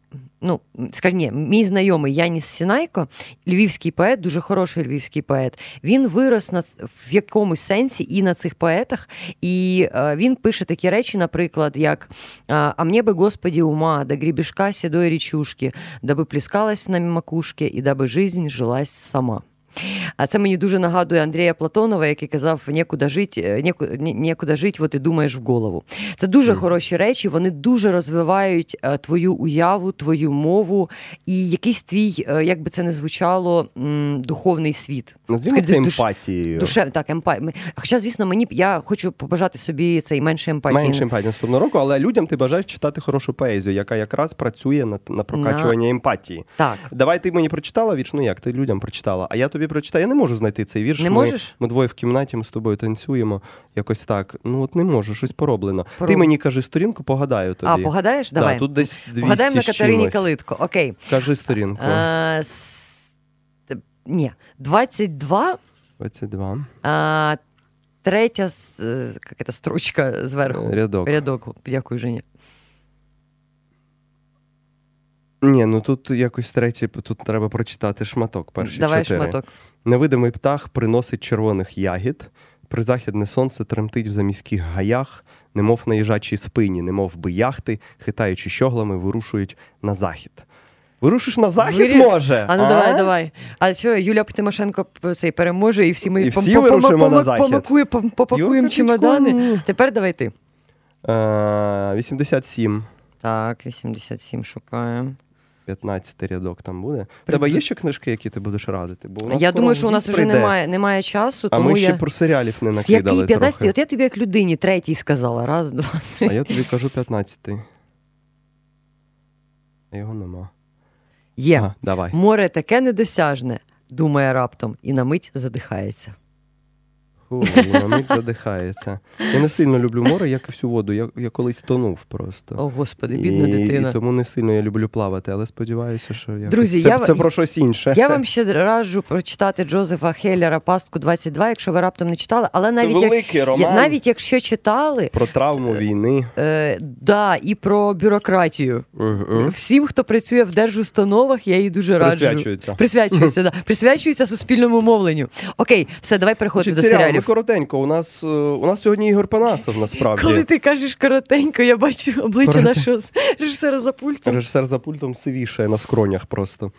мій знайомий Яніс Сінайко, львівський поет, дуже хороший львівський поет, він вирос в якомусь сенсі і на цих поетах, і він пише такі речі, наприклад, як «А мне бы, Господи, ума, до гребешка седой речушки, даби плескалась на макушке, і даби жизнь жилась сама». А це мені дуже нагадує Андрія Платонова, який казав «Некуда жить, вот і думаєш в голову». Це дуже хороші речі, вони дуже розвивають твою уяву, твою мову і якийсь твій, як би це не звучало, духовний світ. Назвімо це емпатією. Так, емпатія. Хоча, звісно, я хочу побажати собі цей менше емпатії. Менше емпатії наступного року, але людям ти бажаєш читати хорошу поезію, яка якраз працює на прокачування емпатії. Так. Давай ти мені прочитала вірш, як ти людям прочитала, а я тобі прочитаю. Я не можу знайти цей вірш. Не можеш? Ми двоє в кімнаті, ми з тобою танцюємо. Якось так. Не можу, щось пороблено. Ти мені кажи сторінку, погадаю тобі. А, погадаєш? Давай. Да, тут десь 200 погадаємо на Катерині Калитко. Окей. Кажи сторінку. 22. 22. Третя строчка зверху. Рядок. Дякую, Женя. Ні, тут якось третій, тут треба прочитати шматок, перші 4. Шматок. Невидимий птах приносить червоних ягід, призахідне сонце тремтить в заміських гаях, немов на їжачій спині, немов би яхти, хитаючи щоглами, вирушують на захід. Вирушиш на захід, може? Давай. А що, Юлія Тимошенко цей переможе, і всі ми попакуємо чемодани? Тепер давай ти. 87. Так, 87 шукаємо. 15 рядок там буде. У тебе є ще книжки, які ти будеш радити? Бо я думаю, що у нас вже немає часу. А ми ще про серіалів не накидали. Який 15-й? От я тобі як людині третій сказала. Раз, два, три. А я тобі кажу 15-й. Його нема. Є. Давай. Море таке недосяжне, думає раптом, і на мить задихається. На мить задихається. Я не сильно люблю море, як і всю воду. Я колись тонув просто. О, Господи, бідна дитина. І тому не сильно я люблю плавати, але сподіваюся, що друзі, це про щось інше. Я вам ще раджу прочитати Джозефа Хеллера «Пастку 22», якщо ви раптом не читали. Але навіть, це великий роман. Навіть якщо читали... Про травму війни. І про бюрократію. Всім, хто працює в держустановах, я їй дуже раджу. Присвячується, да. Присвячується суспільному мовленню. Окей, все, давай переходити до серіалів. серіалів. коротенько. У нас сьогодні Ігор Панасов, насправді. Коли ти кажеш коротенько, я бачу обличчя нашого режисера за пультом. Режисер за пультом сивішає на скронях просто.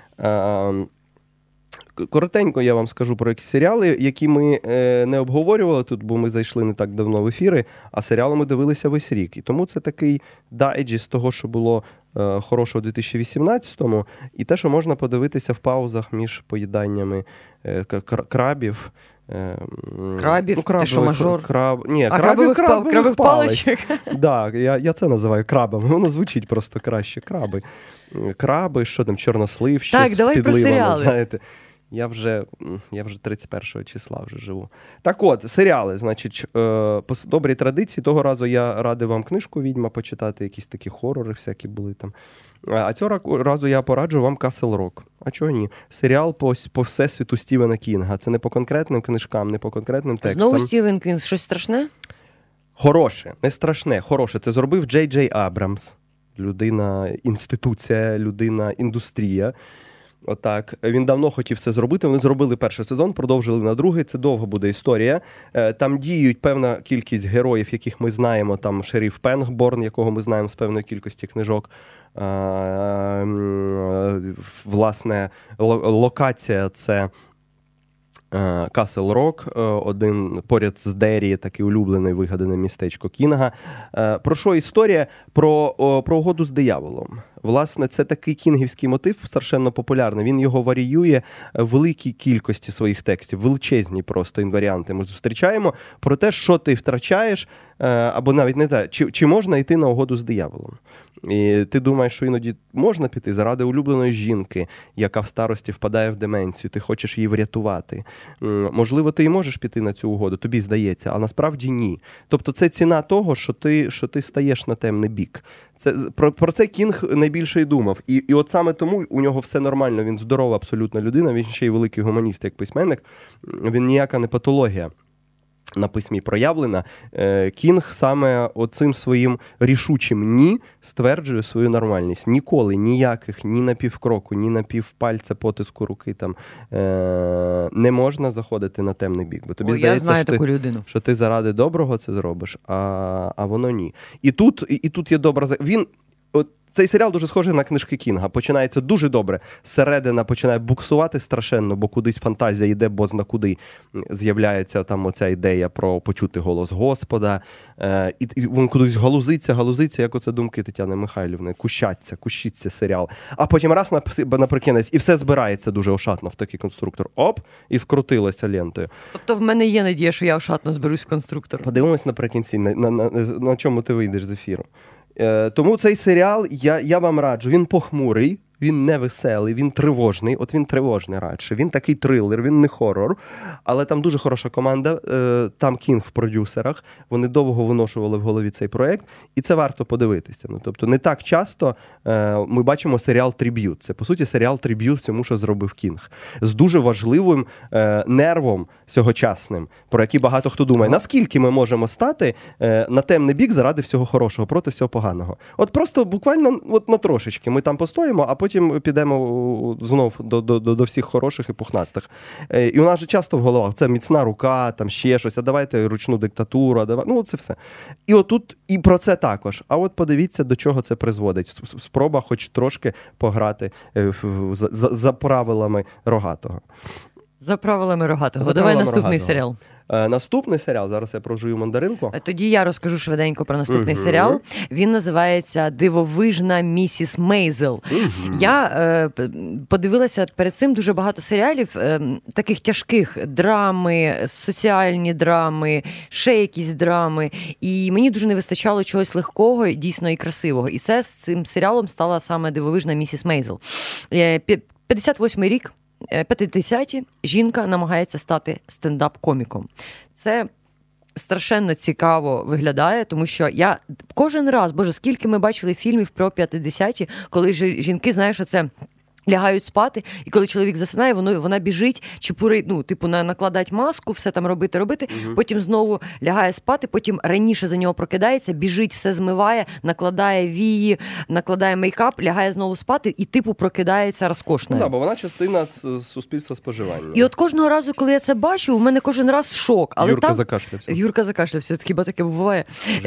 Коротенько я вам скажу про якісь серіали, які ми не обговорювали тут, бо ми зайшли не так давно в ефіри, а серіали ми дивилися весь рік. І тому це такий дайджест того, що було хорошого у 2018-му, і те, що можна подивитися в паузах між поїданнями крабів. Крабів? Ти що, мажор? Крабових паличок? Так, я це називаю крабами, воно звучить просто краще. Краби, що там, чорнослив, щось з підливами, знаєте. Я вже 31 числа вже живу. Так от, серіали, значить, по добрій традиції, того разу я радив вам книжку «Відьма» почитати, якісь такі хорори всякі були там. А цього разу я пораджу вам «Касл Рок». А чого ні? Серіал по всесвіту Стівена Кінга. Це не по конкретним книжкам, не по конкретним текстам. Знову Стівен Кінг, щось страшне? Хороше, не страшне, хороше. Це зробив Джей Джей Абрамс. Людина-інституція, людина-індустрія. Отак. Він давно хотів це зробити. Вони зробили перший сезон, продовжили на другий. Це довго буде історія. Там діють певна кількість героїв, яких ми знаємо. Там шериф Пенгборн, якого ми знаємо з певної кількості книжок. Власне, локація – це Касл Рок, один поряд з Деррі, такий улюблений вигадане містечко Кінга. Про що історія? Про угоду з дияволом. Власне, це такий кінгівський мотив, страшенно популярний. Він його варіює в великій кількості своїх текстів, величезні просто інваріанти ми зустрічаємо, про те, що ти втрачаєш, або навіть не те, чи можна йти на угоду з дияволом. І ти думаєш, що іноді можна піти заради улюбленої жінки, яка в старості впадає в деменцію, ти хочеш її врятувати. Можливо, ти і можеш піти на цю угоду, тобі здається, а насправді ні. Тобто це ціна того, що ти стаєш на темний бік. Про це Кінг найбільше й думав. І от саме тому у нього все нормально, він здорова абсолютно людина, він ще й великий гуманіст, як письменник, він ніяка не патологія на письмі проявлена. Кінг саме оцим своїм рішучим «ні» стверджує свою нормальність. Ніколи ніяких, ні на півкроку, ні на півпальця потиску руки там не можна заходити на темний бік. Бо тобі здається, що ти заради доброго це зробиш, а воно ні. І тут є добра... Цей серіал дуже схожий на книжки Кінга. Починається дуже добре. Зсередина починає буксувати страшенно, бо кудись фантазія йде, бо зна куди з'являється там оця ідея про почути голос Господа. І він кудись галузиться, як оце думки Тетяни Михайлівни. Кущиться серіал. А потім раз наприкінець, і все збирається дуже ошатно в такий конструктор. Оп, і скрутилося лентою. Тобто в мене є надія, що я ошатно зберусь в конструктор. Подивимось наприкінці, на чому ти вийдеш з ефіру. Тому цей серіал я вам раджу. Він похмурий, він не веселий, він тривожний. От він тривожний радше. Він такий трилер, він не хорор. Але там дуже хороша команда. Там Кінг в продюсерах. Вони довго виношували в голові цей проєкт. І це варто подивитися. Тобто не так часто ми бачимо серіал «Триб'ют». Це, по суті, серіал «Триб'ют» всьому, що зробив Кінг. З дуже важливим нервом сьогочасним, про який багато хто думає. Наскільки ми можемо стати на темний бік заради всього хорошого, проти всього поганого? От просто буквально на трошечки. Ми там постоїмо, а потім підемо знов до всіх хороших і пухнастих. І у нас же часто в головах це міцна рука, там ще щось, а давайте ручну диктатуру, це все. І отут і про це також. А от подивіться, до чого це призводить. Спроба хоч трошки пограти за правилами Рогатого. За правилами Рогатого. Давай наступний серіал. Наступний серіал, зараз я прожую мандаринку. Тоді я розкажу швиденько про наступний серіал. Він називається «Дивовижна місіс Мейзел». Я подивилася перед цим дуже багато серіалів, таких тяжких, драми, соціальні драми, ще якісь драми. І мені дуже не вистачало чогось легкого, дійсно і красивого. І це з цим серіалом стала саме «Дивовижна місіс Мейзел». 58-й рік. 50-ті жінка намагається стати стендап-коміком. Це страшенно цікаво виглядає, тому що я кожен раз, скільки ми бачили фільмів про 50-ті, коли жінки, знаєш, оце Лягають спати, і коли чоловік засинає, вона біжить, накладать маску, все там робити, потім знову лягає спати, потім раніше за нього прокидається, біжить, все змиває, накладає вії, накладає мейкап, лягає знову спати і прокидається розкошною. Так, бо вона частина суспільства споживання. І от кожного разу, коли я це бачу, у мене кожен раз шок. Але Юрка закашлявся, хіба таке буває.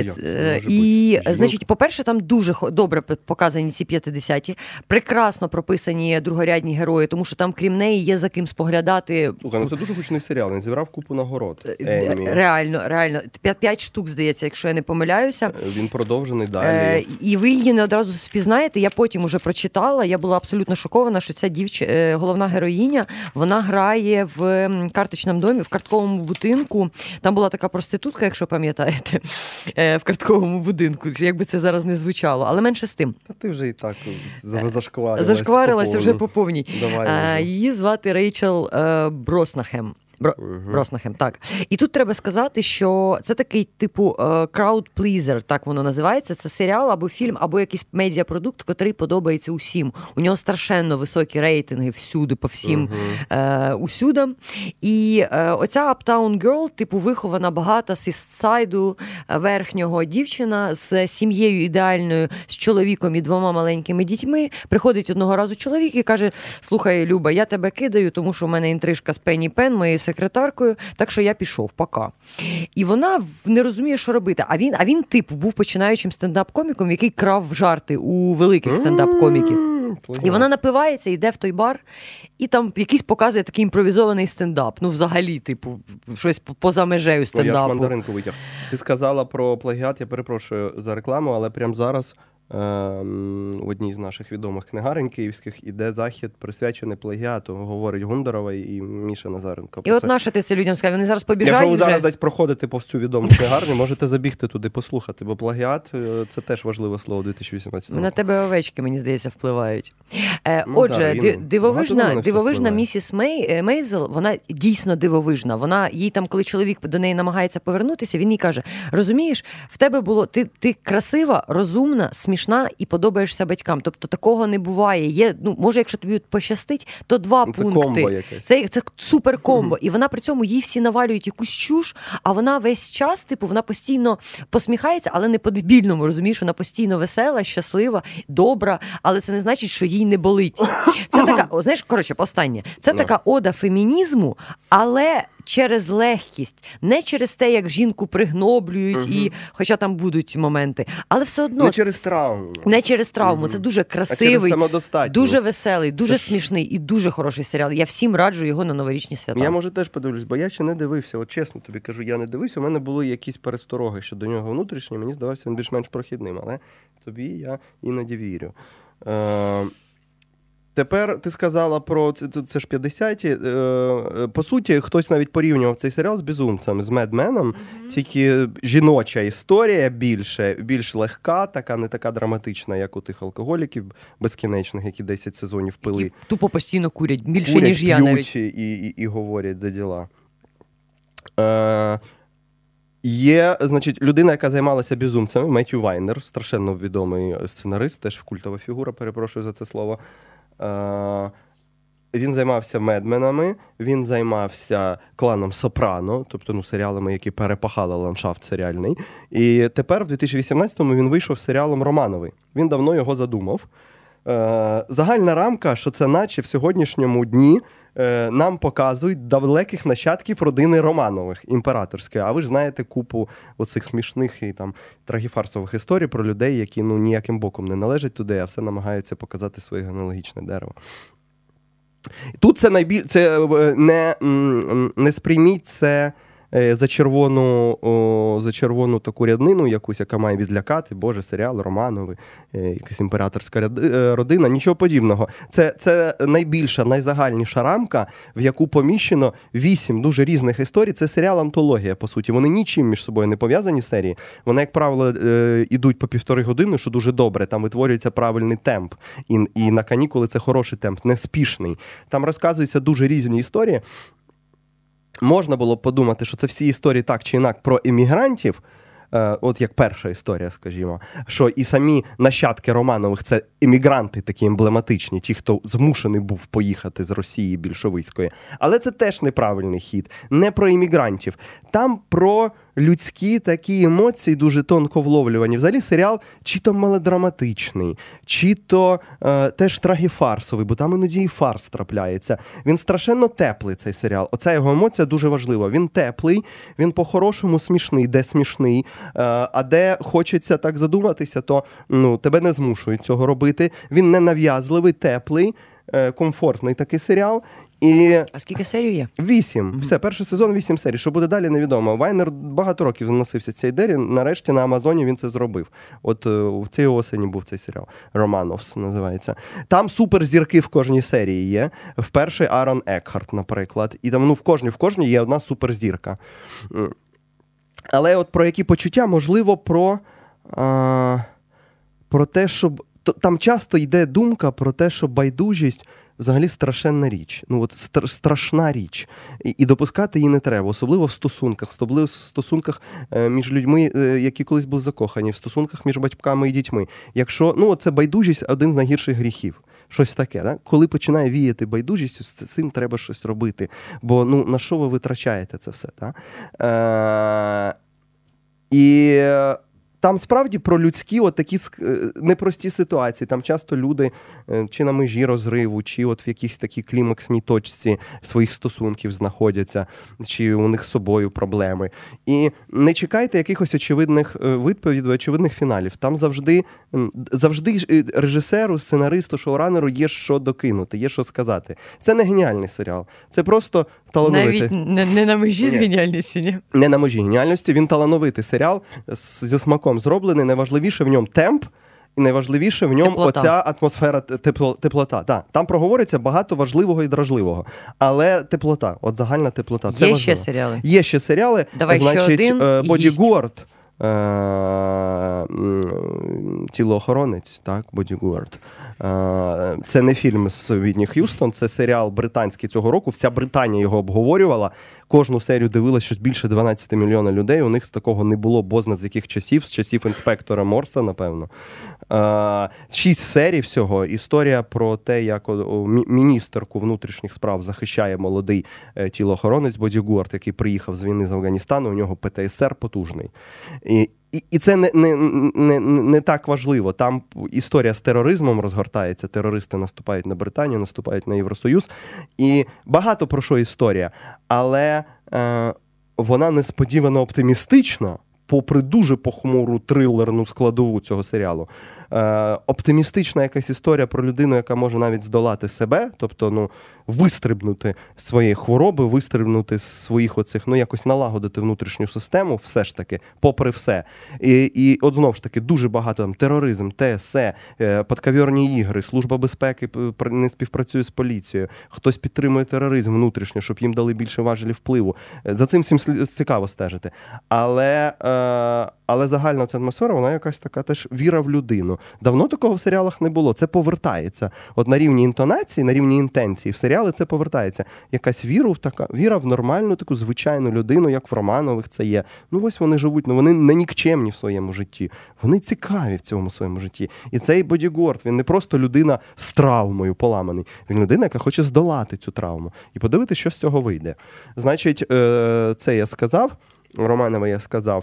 І, значить, по-перше, там дуже добре показані ці 50-ті, прекрасно прописані другорядні герої, тому що там, крім неї, є за ким споглядати. Слухай, це дуже гучний серіал, він зібрав купу нагород. Реально. 5 штук, здається, якщо я не помиляюся. Він продовжений далі. І ви її не одразу впізнаєте, я потім уже прочитала, я була абсолютно шокована, що ця головна героїня, вона грає в карточному домі, в картковому будинку. Там була така проститутка, якщо пам'ятаєте, в картковому будинку, як би це зараз не звучало, але менше з тим. Ти вже і так зашкварилася вже по повній. Її звати Рейчел Броснахем. Броснахем, так. І тут треба сказати, що це такий типу crowd-pleaser, так воно називається. Це серіал або фільм, або якийсь медіапродукт, котрий подобається усім. У нього страшенно високі рейтинги всюди, по всім усюдам. І оця Uptown Girl, вихована багата з Істсайду, верхнього дівчина з сім'єю ідеальною, з чоловіком і 2 маленькими дітьми. Приходить одного разу чоловік і каже: слухай, Люба, я тебе кидаю, тому що в мене інтрижка з Пенні Пен, моєю секретаркою, так що я пішов, пока. І вона не розуміє, що робити. А він був починаючим стендап-коміком, який крав жарти у великих стендап-коміків. І вона напивається, йде в той бар, і там якийсь показує такий імпровізований стендап. Взагалі, щось поза межею стендапу. Я ж мандаринку витяг. Ти сказала про плагіат, я перепрошую за рекламу, але прямо зараз в одній з наших відомих книгарень київських іде захід, присвячений плагіату, говорить Гундарова і Міша Назаренко. І от нащо ти це людям сказав? Вони зараз побіжають вже. Якщо ви зараз десь проходите повз цю відому книгарню, можете забігти туди, послухати, бо плагіат – це теж важливе слово 2018 року. На тебе овечки, мені здається, впливають. Отже, дивовижна місіс Мейзел, вона дійсно дивовижна. Їй там, коли чоловік до неї намагається повернутися, він їй каже: розумієш, в тебе було, ти красива, розумна, смішна і подобаєшся батькам. Тобто такого не буває. Є, може, якщо тобі пощастить, то 2 пункти. Комбо якесь. Це супер комбо. І вона при цьому, їй всі навалюють якусь чуш, а вона весь час, вона постійно посміхається, але не по-дебільному, розумієш? Вона постійно весела, щаслива, добра, але це не значить, що їй не болить. Це така, останнє. Це така ода фемінізму, але через легкість, не через те, як жінку пригноблюють, і, хоча там будуть моменти, але все одно... Не через травму. Це дуже красивий, дуже веселий, дуже смішний і дуже хороший серіал. Я всім раджу його на новорічні свята. Я, може, теж подивлюсь, бо я ще не дивився. От чесно тобі кажу, я не дивився. У мене були якісь перестороги щодо нього внутрішні. Мені здавався він більш-менш прохідним, але тобі я іноді вірю. Тепер ти сказала про це ж 50-ті. По суті, хтось навіть порівнював цей серіал з «Безумцем», з «Мед Меном». Тільки жіноча історія більш легка, така не така драматична, як у тих алкоголіків безкінечних, які 10 сезонів пили. Які тупо постійно курять, більше, ніж я навіть. І говорять за діла. Є, значить, людина, яка займалася «Безумцями», Меттью Вайнер, страшенно відомий сценарист, теж культова фігура, перепрошую за це слово. Він займався «Медменами», він займався «Кланом Сопрано», тобто серіалами, які перепахали ландшафт серіальний. І тепер, в 2018-му, він вийшов з серіалом «Романовий». Він давно його задумав. Загальна рамка, що це наче в сьогоднішньому дні нам показують далеких нащадків родини Романових, імператорської. А ви ж знаєте купу оцих смішних і там трагіфарсових історій про людей, які ніяким боком не належать туди, а все намагаються показати своє генеалогічне дерево. Тут це не сприйміть це за червону таку ряднину якусь, яка має відлякати, боже, серіал Романовий, якась імператорська родина, нічого подібного. Це найбільша, найзагальніша рамка, в яку поміщено 8 дуже різних історій. Це серіал-антологія, по суті. Вони нічим між собою не пов'язані серії. Вони, як правило, ідуть по 1,5 години, що дуже добре. Там витворюється правильний темп. І на канікули це хороший темп, неспішний. Там розказуються дуже різні історії. Можна було б подумати, що це всі історії так чи інак про емігрантів, от як перша історія, скажімо, що і самі нащадки Романових – це емігранти такі емблематичні, ті, хто змушений був поїхати з Росії більшовицької. Але це теж неправильний хід. Не про іммігрантів. Там про людські такі емоції, дуже тонко вловлювані. Взагалі серіал чи то мелодраматичний, чи то теж трагіфарсовий, бо там іноді і фарс трапляється. Він страшенно теплий, цей серіал. Оця його емоція дуже важлива. Він теплий, він по-хорошому смішний, де смішний, а де хочеться так задуматися, то тебе не змушують цього робити. Він не нав'язливий, теплий, комфортний такий серіал. А скільки серій є? 8. Все, перший сезон 8 серій. Що буде далі, невідомо. Вайнер багато років носився цій ідеї. Нарешті на Амазоні він це зробив. От в цій осені був цей серіал. Романовс називається. Там суперзірки в кожній серії є. В першій Арон Екхарт, наприклад. І там в кожній є одна суперзірка. Але от про які почуття, можливо, про те, щоб... Там часто йде думка про те, що байдужість взагалі страшенна річ. Страшна річ. І допускати її не треба. Особливо в стосунках між людьми, які колись були закохані, в стосунках між батьками і дітьми. Якщо, це байдужість – один з найгірших гріхів. Щось таке, да? Коли починає віяти байдужість, з цим треба щось робити. Бо, на що ви витрачаєте це все, так? І... Там справді про людські такі непрості ситуації. Там часто люди чи на межі розриву, чи в якійсь такій клімаксній точці своїх стосунків знаходяться, чи у них з собою проблеми. І не чекайте якихось очевидних відповідей, очевидних фіналів. Там завжди режисеру, сценаристу, шоуранеру є що докинути, є що сказати. Це не геніальний серіал. Це просто талановитий. Навіть не на межі з геніальністю, ні? Не на межі геніальності. Він талановитий серіал зі смаком зроблений, найважливіше в ньому темп, і найважливіше в ньому оця атмосфера, теплота. Да. Там проговориться багато важливого і дражливого, але теплота, загальна теплота. Це є важливо. Ще серіали? Є ще серіали. Давай значить, ще один Бодігуард, тілоохоронець, так, Бодігуард. Це не фільм з Вітні Х'юстон, це серіал британський цього року. Вся Британія його обговорювала. Кожну серію дивилась щось більше 12 мільйонів людей. У них з такого не було бозна з яких часів. З часів інспектора Морса, напевно. 6 серій всього. Історія про те, як міністерку внутрішніх справ захищає молодий тілоохоронець Бодігуард, який приїхав з війни з Афганістану. У нього ПТСР потужний. І це не так важливо. Там історія з тероризмом розгортається. Терористи наступають на Британію, наступають на Євросоюз. І багато про що історія. Але вона несподівано оптимістична, попри дуже похмуру трилерну складову цього серіалу. Оптимістична якась історія про людину, яка може навіть здолати себе, тобто, вистрибнути з своєї хвороби, вистрибнути з своїх оцих, якось налагодити внутрішню систему, все ж таки, попри все. І от знову ж таки, дуже багато там тероризм, ТСЕ, подковірні ігри, Служба безпеки не співпрацює з поліцією, хтось підтримує тероризм внутрішньо, щоб їм дали більше важелів впливу. За цим всім цікаво стежити. Але загальна ця атмосфера, вона якась така теж віра в людину. Давно такого в серіалах не було. Це повертається. От на рівні інтонації, на рівні інтенції в серіали це повертається. Якась віра в нормальну таку звичайну людину, як в Романових це є. Ось вони живуть, вони не нікчемні в своєму житті. Вони цікаві в цьому своєму житті. І цей Бодігуард, він не просто людина з травмою поламаний. Він людина, яка хоче здолати цю травму. І подивитися, що з цього вийде. Значить, це я сказав. Романова я сказав.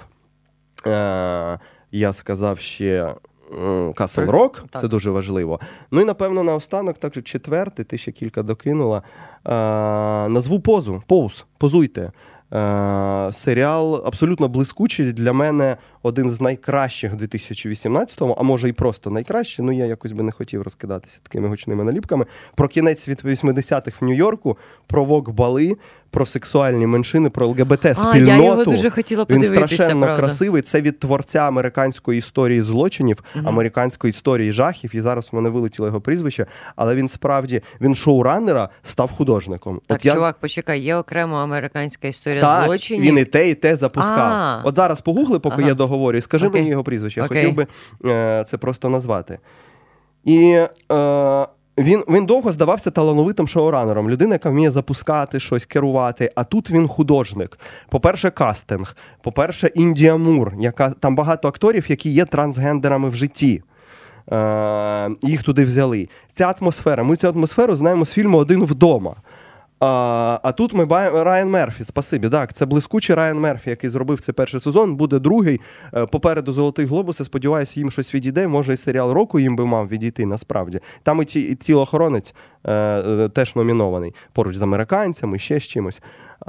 Я сказав ще Castle Rock, це дуже важливо. І, напевно, наостанок, так, четвертий, ти ще кілька докинула, назву «Позуйте». Серіал абсолютно блискучий, для мене один з найкращих 2018-го, а може і просто найкращий, я якось би не хотів розкидатися такими гучними наліпками, про кінець від 80-х в Нью-Йорку, про вок-бали, про сексуальні меншини, про ЛГБТ-спільноту. Я його дуже хотіла подивитися, він страшенно правда. Красивий. Це від творця американської історії злочинів, американської історії жахів, і зараз у мене вилетіло його прізвище, але він справді, він шоураннера став художником. Так, чувак, почекай, є окремо американська історія злочинів? Так, він і те запускав. От зараз погугли, поки я договорю, і скажи мені його прізвище. Я хотів би це просто назвати. І Він довго здавався талановитим шоуранером. Людина, яка вміє запускати щось, керувати. А тут він художник. По-перше, кастинг. По-перше, Індія Мур. Там багато акторів, які є трансгендерами в житті. Їх туди взяли. Ця атмосфера. Ми цю атмосферу знаємо з фільму «Один вдома». А тут ми бачимо Райан Мерфі, спасибі. Так, це блискучий Райан Мерфі, який зробив цей перший сезон, буде другий. Попереду «Золотий глобус», я сподіваюся, їм щось відійде. Може, і серіал року їм би мав відійти, насправді. Там і «Тілоохоронець» теж номінований. Поруч з американцями, ще з чимось.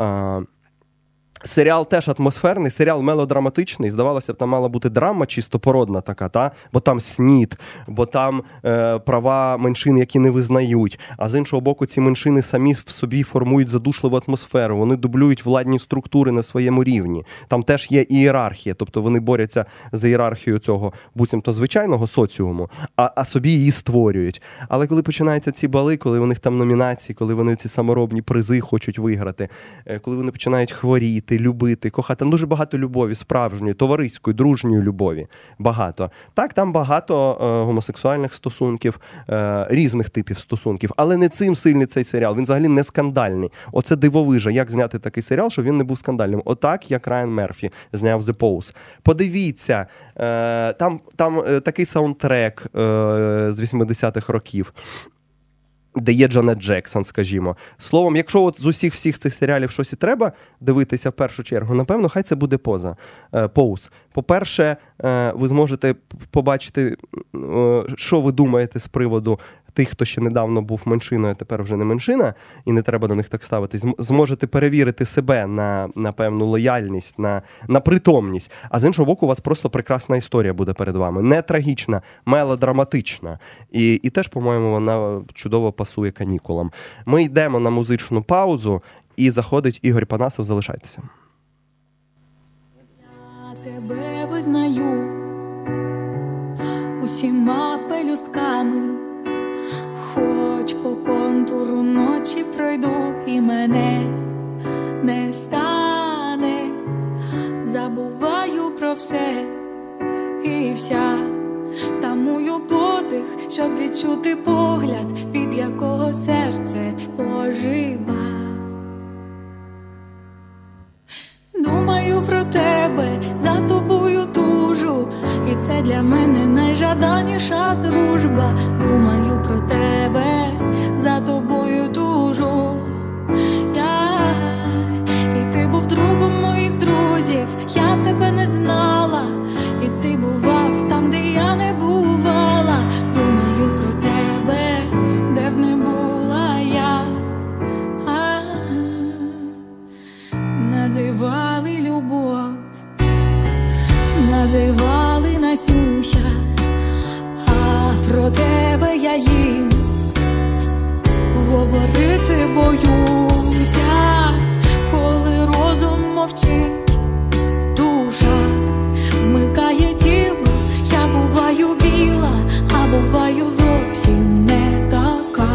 Серіал теж атмосферний, серіал мелодраматичний. Здавалося б, там мала бути драма чисто породна така, та? Бо там СНІД, бо там права меншин, які не визнають. А з іншого боку, ці меншини самі в собі формують задушливу атмосферу. Вони дублюють владні структури на своєму рівні. Там теж є ієрархія, тобто вони борються за ієрархією цього буцімто звичайного соціуму, а собі її створюють. Але коли починаються ці бали, коли у них там номінації, коли вони ці саморобні призи хочуть виграти, коли вони починають хворіти, любити, кохати. Там дуже багато любові, справжньої, товариської, дружньої любові. Багато. Так, там багато гомосексуальних стосунків, різних типів стосунків. Але не цим сильний цей серіал. Він взагалі не скандальний. Оце дивовижа, як зняти такий серіал, щоб він не був скандальним. Отак, як Райан Мерфі зняв The Pose. Подивіться, там такий саундтрек з 80-х років, де є Джанет Джексон, скажімо. Словом, якщо от з усіх всіх цих серіалів щось і треба дивитися в першу чергу, напевно, хай це буде Pose. По-перше, ви зможете побачити, що ви думаєте з приводу тих, хто ще недавно був меншиною, а тепер вже не меншина, і не треба до них так ставитись. Зможете перевірити себе на певну лояльність, на притомність. А з іншого боку, у вас просто прекрасна історія буде перед вами. Не трагічна, мелодраматична. І теж, по-моєму, вона чудово пасує канікулам. Ми йдемо на музичну паузу, і заходить Ігор Панасов. Залишайтеся. Я тебе визнаю усіма пелюстками. Хоч по контуру ночі пройду, і мене не стане. Забуваю про все і вся, тамую подих, щоб відчути погляд, від якого серце ожива. Думаю про тебе, за тобою тужу, і це для мене найжаданіша дружба. Думаю про тебе, за тобою тужу я. І ти був другом моїх друзів, я тебе не знала, і ти бував там, де я не бувала. Думаю про тебе, де б не була я. Називали любов, називали Настюша, а про тебе я їм говорити боюся. Коли розум мовчить, душа вмикає тіло, я буваю біла, а буваю зовсім не така.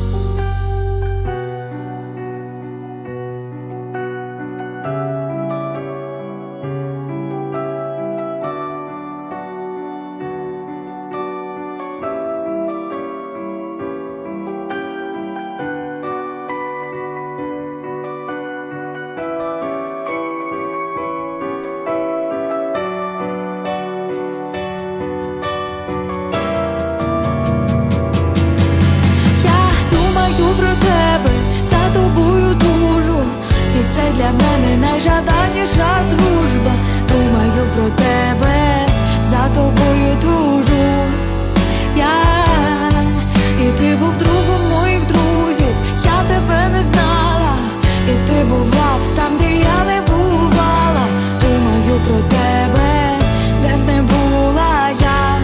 Це для мене найжаданіша дружба. Думаю про тебе, за тобою тужу я. І ти був другом моїх друзів, я тебе не знала, і ти бував там, де я не бувала. Думаю про тебе, де б не була я.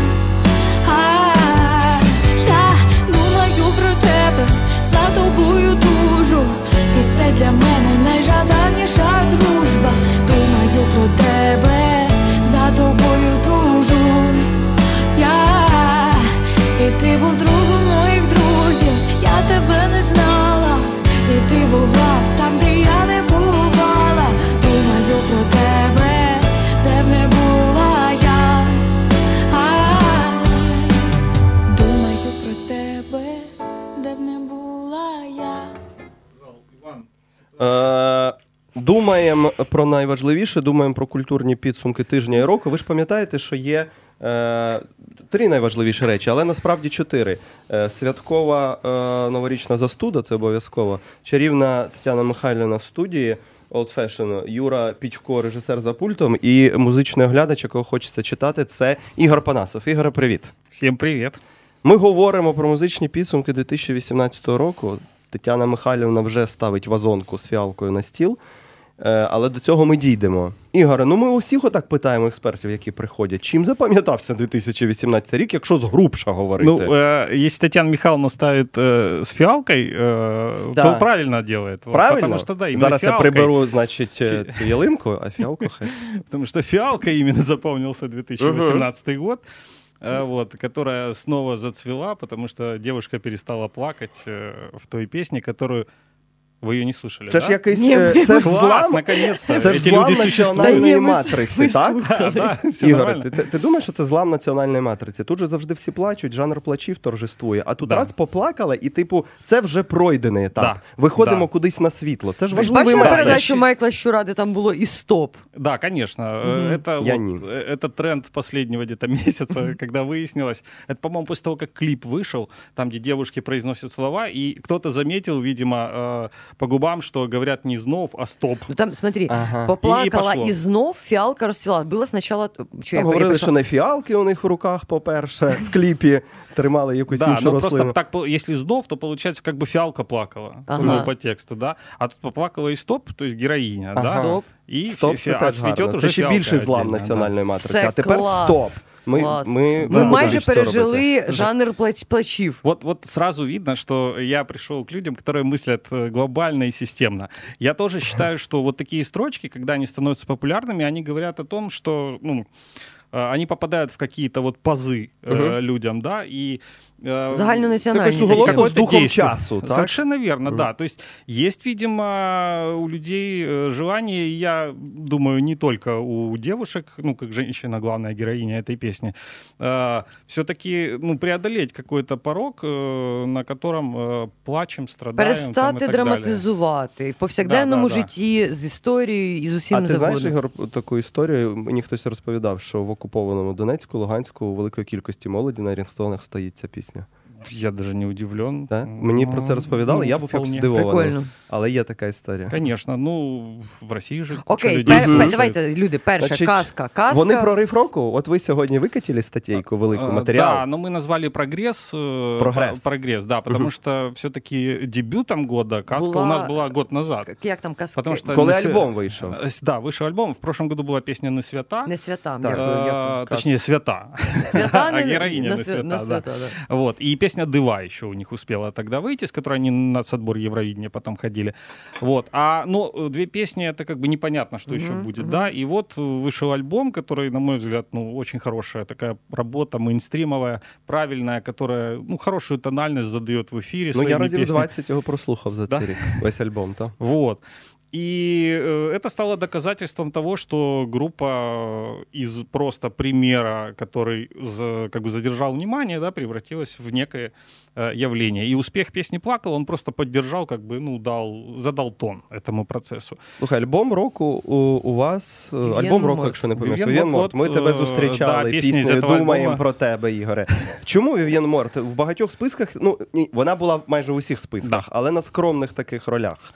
Я думаю про тебе, за тобою тужу, і це для мене найжаданіша дружба. Думаю про тебе, за тобою тужу думаємо про найважливіше, думаємо про культурні підсумки тижня і року. Ви ж пам'ятаєте, що є 3 найважливіші речі, але насправді 4. Святкова новорічна застуда, це обов'язково. Чарівна Тетяна Михайлівна в студії, Old Fashion, Юра Пітько, режисер за пультом, і музичний оглядач, якого хочеться читати, це Ігор Панасов. Ігоре, привіт. Всім привіт. Ми говоримо про музичні підсумки 2018 року. Тетяна Михайлівна вже ставить вазонку з фіалкою на стіл, але до цього ми дійдемо. Ігоре, ми усіх отак питаємо експертів, які приходять. Чим запам'ятався 2018 рік, якщо згрубша говорити? Якщо Тетяна Михайловна ставить з фіалкою, то правильно робить. Правильно? Зараз я приберу, значить, цю ялинку, а фіалку хай. Потому что фиалка именно запомнился 2018 год. Которая снова зацвела, потому что девушка перестала плакать в той песне, которую ви її не слышали, це да? ж якийсь... Це ж клас, наконец-то. Це ж злам національної матриці, так? Все Ігор, ти думаєш, що це злам національної матриці? Тут же завжди всі плачуть, жанр плачів торжествує. А тут раз поплакала і, це вже пройдений етап. Виходимо кудись на світло. Це ж важливий меседж. Бачили передачу Майкла Щура, де там було і стоп? Да, конечно. Это тренд последнего где-то месяца, когда выяснилось. Это, по-моему, после того, как клип вышел, там, где девушки произносят слова, и кто-то заметил, видимо, по губам, что говорят не знов, а стоп. Там, смотри, поплакала і знов фіалка розцвіла. Було спочатку... Там говорили, що не фіалки у них в руках, по-перше, в кліпі тримали якусь іншу рослину. Просто так, если знов, то получается, как бы фиалка плакала, по тексту, да? А тут поплакала и стоп, то есть героиня, да? Стоп. І стоп, це теж гарно. Це ще більший злам національної матриці. Це а тепер стоп. Ми майже пережили жанр плачів. Вот сразу видно, что я пришел к людям, которые мыслят глобально и системно. Я тоже считаю, что вот такие строчки, когда они становятся популярными, они говорят о том, что они попадают в какие-то вот пазы людям, да, и загальнонаціональні. Це суголосно з духом часу, так? Совершенно верно, да. То есть есть, видимо, у людей желание, я думаю, не только у девушек, как женщина, главная героиня этой песни, все-таки, преодолеть какой-то порог, на котором плачем, страдаем. Перестати драматизувати в повсякденному житті з історією і з усім забудемо. А ти знаєш, Ігор, таку історію? Мені хтось розповідав, що в окупованому Донецьку, Луганську у великої кількості молоді на рінгтонах стоїть ця пісня. Я даже не удивлен. Да? Мені про це розповідали, я був якось здивований. Прикольно. Але є така історія. Конечно, в Росії же Окей, давайте, люди, перша, казка. Вони про риф року? От ви сьогодні викатили статтейку, велику матеріал? Да, но мы назвали прогресс, да, потому что все-таки дебютом года казка у нас была год назад. Як там казка? Коли альбом вийшов? Да, вышел альбом. В прошлом году была песня «Не свята». Не свята, дякую. Точнее, свята. Свята, а героиня не свята, да. Вот, и песня «Дыва» еще у них успела тогда выйти, с которой они на нацотбор Евровидения потом ходили. Вот. Две песни, это как бы непонятно, что еще будет, да. И вот вышел альбом, который, на мой взгляд, очень хорошая такая работа, мейнстримовая, правильная, которая, хорошую тональность задает в эфире своими песнями. Я разів 20 його прослухав за цей рік, весь альбом, так? Вот. И это стало доказательством того, что группа из просто примера, который как бы задержал внимание, да, превратилась в некое явление. И успех песни «Плакал», он просто поддержал, как бы, задал тон этому процесу. Слухай, альбом року у вас, альбом року, якщо не помиляюсь, Вів'єн Морт. Ми тебе зустрічали піснею «Думаємо про тебе», Ігоре. Чому Вів'єн Морт? В багатьох списках, вона була майже в усіх списках, але на скромних таких ролях.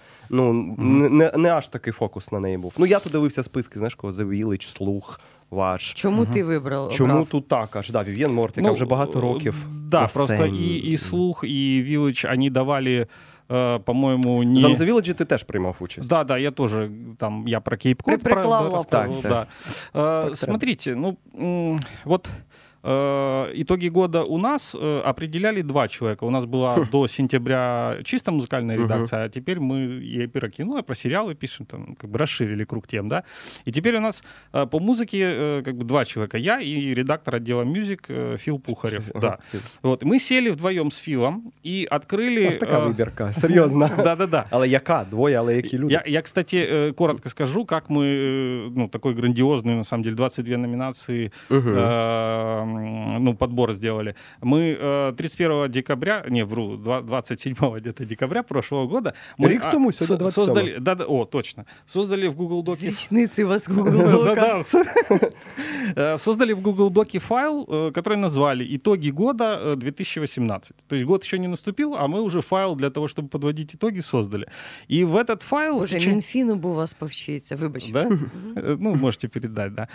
Не аж такий фокус на неї був. Я тут дивився списки, знаєш, кого? The Village, Слух, ваш. Чому ти вибрав? Чому тут так аж? Да, Вів'єн Морт, яка вже багато років. Да, просто і Слух, і Village, вони давали, по-моему, не... За The Village ти теж приймав участь. Да, я тоже, я про Кейп-Код рассказывал, да. Смотрите, вот... Итоги года у нас определяли 2 человека. У нас была до сентября чисто музыкальная редакция, а теперь мы и про кино, и про сериалы пишем, там, как бы расширили круг тем, да. И теперь у нас по музыке как бы 2 человека. Я и редактор отдела мюзик Фил Пухарев. Да. Вот. Мы сели вдвоем с Филом и открыли... У вас така вибірка, серйозно. Да. Але яка? 2, але які люди? Я, кстати, коротко скажу, как мы, такой грандиозный, на самом деле, 22 номинации подбор сделали. Мы 31 декабря, 27 где-то декабря прошлого года рік тому, сегодня 27. создали, точно, создали в Google Доке... Речницы у вас Google Дока. Создали в Google Доке файл, который назвали «Итоги года 2018». То есть год еще не наступил, а мы уже файл для того, чтобы подводить итоги, создали. И в этот файл... Боже, Мінфіну бы у вас повчиться, вибачте. Да? Можете передать, да.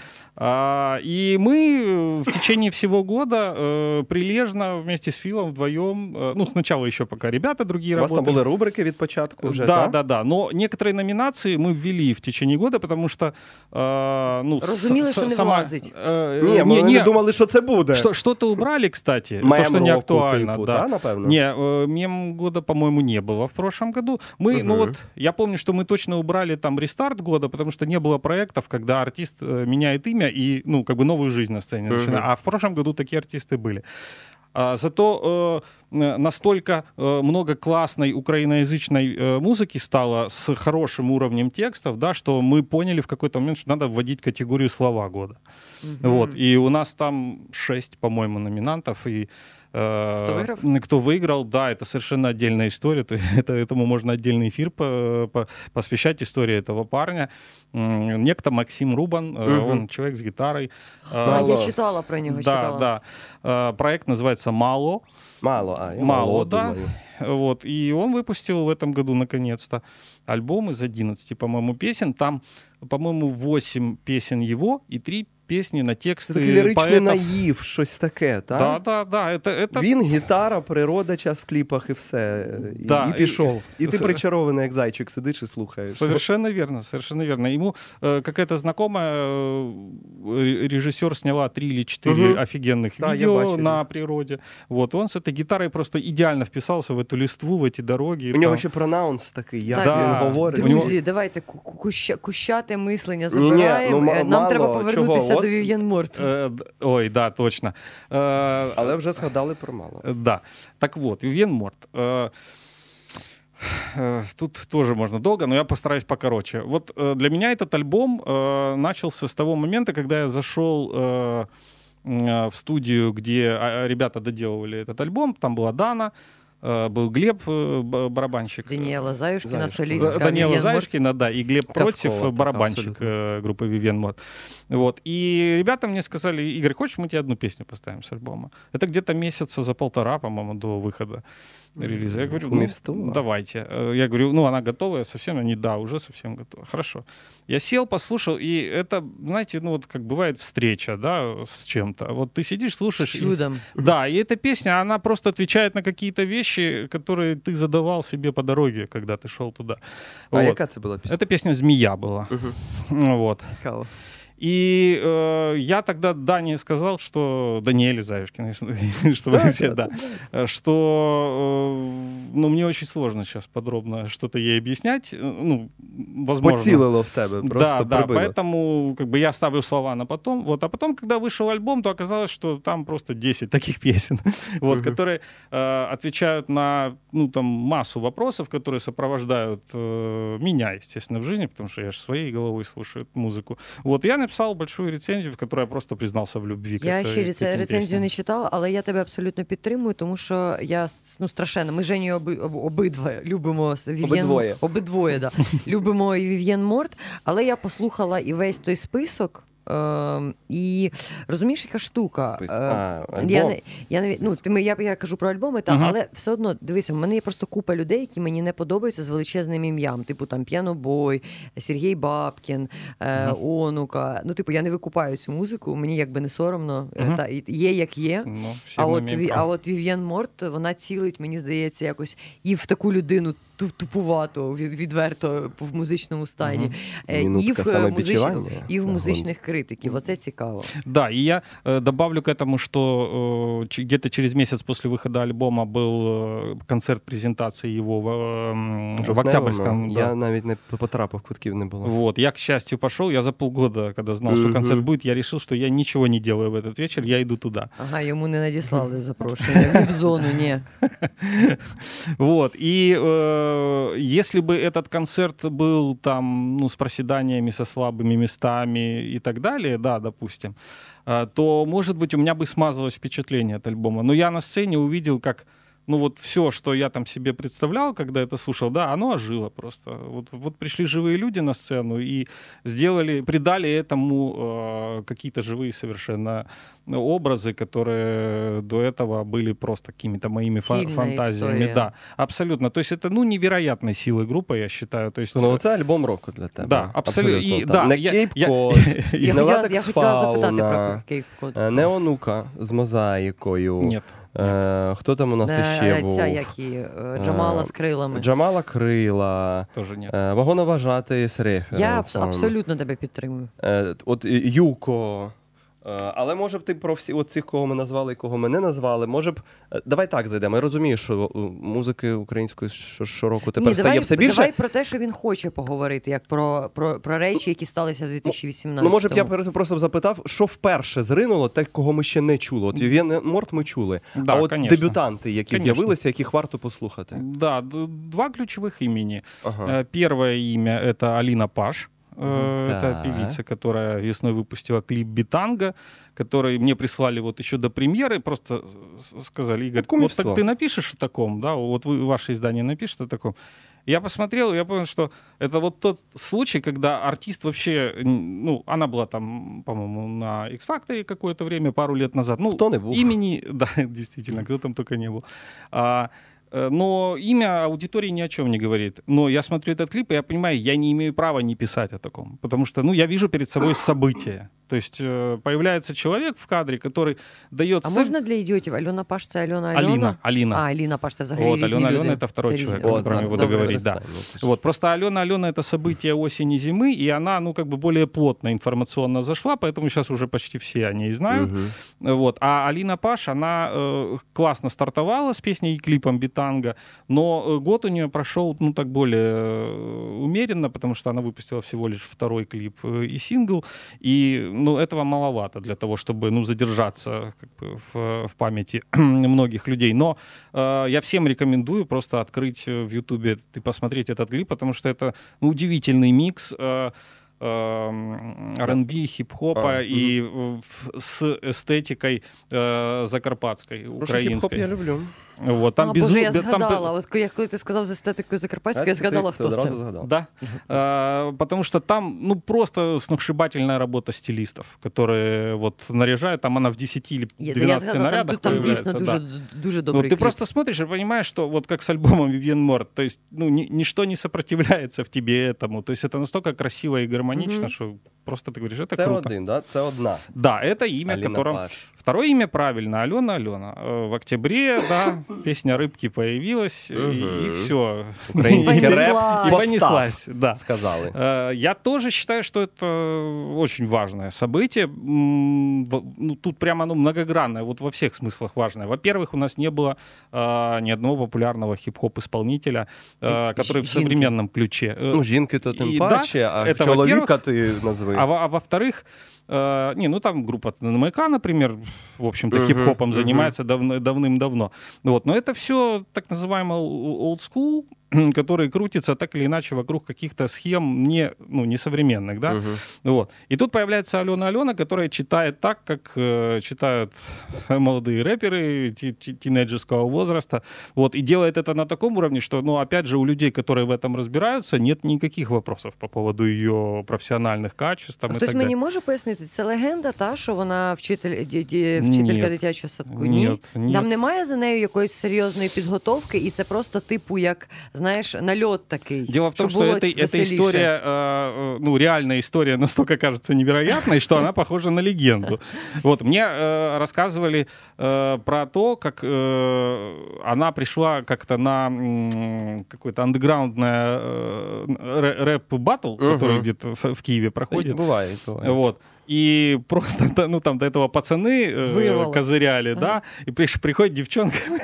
И мы в течение всего года прилежно вместе с Филом вдвоем, сначала еще пока ребята другие работали. У вас там были рубрики від початку уже, да. Но некоторые номинации мы ввели в течение года, потому что... Розуміли, що не влазить. Ми не думали, що це буде. Что-то убрали, кстати, то, что не актуально. Типу, да, напевно? Мем года, по-моему, не было в прошлом году. Мы, я помню, что мы точно убрали там рестарт года, потому что не было проектов, когда артист меняет имя и, новую жизнь на сцене начинает. А в прошлом году такие артисты были. Зато настолько много классной украиноязычной музыки стало с хорошим уровнем текстов, да, что мы поняли в какой-то момент, что надо вводить категорию слова года. Вот. И у нас там 6, по-моему, номинантов. И кто выиграл, да, это совершенно отдельная история. Этому можно отдельный эфир посвящать истории этого парня. Некто Максим Рубан, он человек с гитарой. Я читала про него. Да. Проект называется «Мало». Мало, да. Вот. И он выпустил в этом году, наконец-то, альбом из 11, по-моему, песен. Там, по-моему, 8 песен его и 3 пісні на тексти поетів. Такий ліричний наїв, щось таке, так? Да. Він, гітара, природа, час в кліпах і все. І пішов. І ти причарований, як зайчик, сидиш і слухаєш. Совершенно верно. Ему какая-то знакомая режиссер сняла 3 или 4 офигенных видео на природе. Вот, он с этой гитарой просто идеально вписался в эту листву, в эти дороги. У нього ще пронаунс такий, як він говорить. Друзі, давайте кущате мислення забираємо. Нам треба повернутися до Вів'єн Морт. Ой, да, точно. Але вже згадали про Мало. Да. Так вот, Вів'єн Морт. Тут тоже можно долго, но я постараюсь покороче. Вот для меня этот альбом начался с того момента, когда я зашел в студию, где ребята доделывали этот альбом. Там была Дана, был Глеб, барабанщик. Даниэла Заюшкина, солистка. Даниэла Заюшкина, да, и Глеб Против, барабанщик группы Вивьен Морт. Вот. И ребята мне сказали: Игорь, хочешь, мы тебе одну песню поставим с альбома? Это где-то месяца за 1.5, по-моему, до выхода релиза. Я говорю, давайте. Я говорю, она готовая совсем? Они, да, уже совсем готова. Хорошо. Я сел, послушал, и это, знаете, вот как бывает встреча, да, с чем-то. Вот ты сидишь, слушаешь. С чудом. Да, и эта песня, она просто отвечает на какие-то вещи, которые ты задавал себе по дороге, когда ты шел туда. А яка це була песня? Это песня «Змея» была. Вот. Цікаво. И я тогда Дане сказал, что Даниэле Заюшкиной, чтобы все, да, что мне очень сложно сейчас подробно что-то ей объяснять. Возможно. Поцілило в тебе, просто да, поэтому я ставлю слова на потом. Вот, а потом, когда вышел альбом, то оказалось, что там просто 10 таких песен, вот, которые отвечают на массу вопросов, которые сопровождают меня, естественно, в жизни, потому что я же своей головой слушаю музыку. Вот, я написал большую рецензію, в якій я просто признався в любві. Я ще рецензію не читала, але я тебе абсолютно підтримую, тому що я страшенно. Ми з Женєю обидва любимо Вів'єн. Обидвоє, да. Любимо і Вів'єн Морт, але я послухала і весь той список. І розумієш, яка штука? Я кажу про альбоми, але все одно, дивися, в мене є просто купа людей, які мені не подобаються з величезним ім'ям. Типу там П'янобой, Сергій Бабкін, Онука. Я не викупаю цю музику, мені якби не соромно. Є як є. А от Вів'єн Морт, вона цілить, мені здається, якось і в таку людину тупувато, відверто в музичному стані. І в музичних критиків. Оце цікаво. Да, и я добавлю к этому, что где-то через месяц после выхода альбома был концерт презентации его в Октябрьском. Я навіть не потрапив, квитків не було. Вот, я, к счастью, пошел. Я за полгода, когда знал, что концерт будет, я решил, что я ничего не делаю в этот вечер, я иду туда. Ага, йому не надіслали запрошення. В віп-зону, ні. Вот, и если бы этот концерт был там, с проседаниями, со слабыми местами и так далее, да, допустим, то, может быть, у меня бы смазалось впечатление от альбома. Но я на сцене увидел, как все, что я там себе представлял, когда это слушал, да, оно ожило просто. Вот пришли живые люди на сцену и придали этому какие-то живые совершенно образы, которые до этого были просто какими-то моими фантазиями. История. Да, абсолютно. То есть это, невероятной силы группа, я считаю. То есть, це альбом року для тебе. Да, абсолютно. Да, не Кейп-Код, не Латекс Фауна, не Онука з мозаїкою. Ні. Хто там у нас ще був? Ця, як її, Джамала з крилами. Джамала Крила. Тоже ні. Вагоноважатий з референсом. Я абсолютно тебе підтримую. От Юко. Але, може б, ти про всі цих, кого ми назвали і кого ми не назвали, може б... Давай так зайдемо. Я розумію, що музики української щороку тепер стає все більше. Давай про те, що він хоче поговорити, як про речі, які сталися в 2018-му. Може б, я просто запитав, що вперше зринуло те, кого ми ще не чули. От Вів'єн Морт ми чули. Да, а от конечно. Дебютанти, які з'явилися, яких варто послухати. Да, два ключевых имени. Ага. Первое имя — это Алина Паш. Это певица, которая весной выпустила клип «Битанго», который мне прислали еще до премьеры, просто сказали: Игорь, вот так ты напишешь о таком, да, вот ваше издание напишет о таком. Я посмотрел, я понял, что это тот случай, когда артист вообще, она была там, по-моему, на X-Factor какое-то время, пару лет назад. Кто не был? Имени, да, действительно, кто там только не был. Но имя аудитории ни о чем не говорит. Но я смотрю этот клип, и я понимаю, я не имею права не писать о таком. Потому что, я вижу перед собой событие. То есть появляется человек в кадре, который дает... А можно для идиотов? Алена Паш — це Алена? Алина. Алина Паш — це взагалі різні люди. Алена — это второй человек, о котором я буду говорить. Да. Просто Алена — это событие осени, зимы, и она, более плотно информационно зашла, поэтому сейчас уже почти все о ней знают. А Алина Паш, она классно стартовала с песней и клипом «Битанго», но год у нее прошел, так более умеренно, потому что она выпустила всего лишь второй клип и сингл, и этого маловато для того, чтобы задержаться в памяти многих людей. Но я всем рекомендую просто открыть в Ютубе и посмотреть этот клип, потому что это удивительный микс R&B, хип-хопа и с эстетикой закарпатской, украинской. Хип-хоп я люблю. Там Боже, я згадала. Коли ти сказав з естетикою закарпатською, я згадала, хто це. Да. Потому что там просто сногсшибательная работа стилистов, которые наряжают, там она в 10 или 12 нарядах там появляется. Там дійсно дуже добрий клип. Ты просто смотришь и понимаешь, что как с альбомом Вивьен Морт, то есть ничто не сопротивляется в тебе этому. То есть это настолько красиво и гармонично, что просто ты говоришь, это круто. Це один, да? Це одна. Да, это имя, которым... Второе имя правильно, Алена. В октябре, да, песня «Рыбки» появилась, и все. Украинский рэп. И понеслась, да. Сказали. Я тоже считаю, что это очень важное событие. Тут прямо многогранное, во всех смыслах важное. Во-первых, у нас не было ни одного популярного хип-хоп-исполнителя, который в современном ключе. Жінки-то тим паче, а чоловіка ти назви. А во-вторых, там группа НМК, например, в общем-то, хип-хопом занимается давным-давно. Но это все так называемый old school, который крутится так или иначе вокруг каких-то схем несовременных, да. И тут появляется Алена, которая читает так, как читают молодые рэперы тинейджерского возраста, и делает это на таком уровне, что, опять же, у людей, которые в этом разбираются, нет никаких вопросов по поводу ее професіональних качеств. Хтось мені може пояснити, це легенда, що вона вчителька дитячого садку? Ні. Там немає за нею якоїсь серйозної підготовки, і це просто типу як, знаєш, нальот такий. Дело в том, что эта история, реальная история настолько кажется невероятной, что она похожа на легенду. Мне рассказывали про то, как она пришла как-то на какой-то андеграундный рэп-баттл, который где-то в Киеве проходит. Бывает. И просто, до этого пацаны козыряли, да, и приходит девчонка,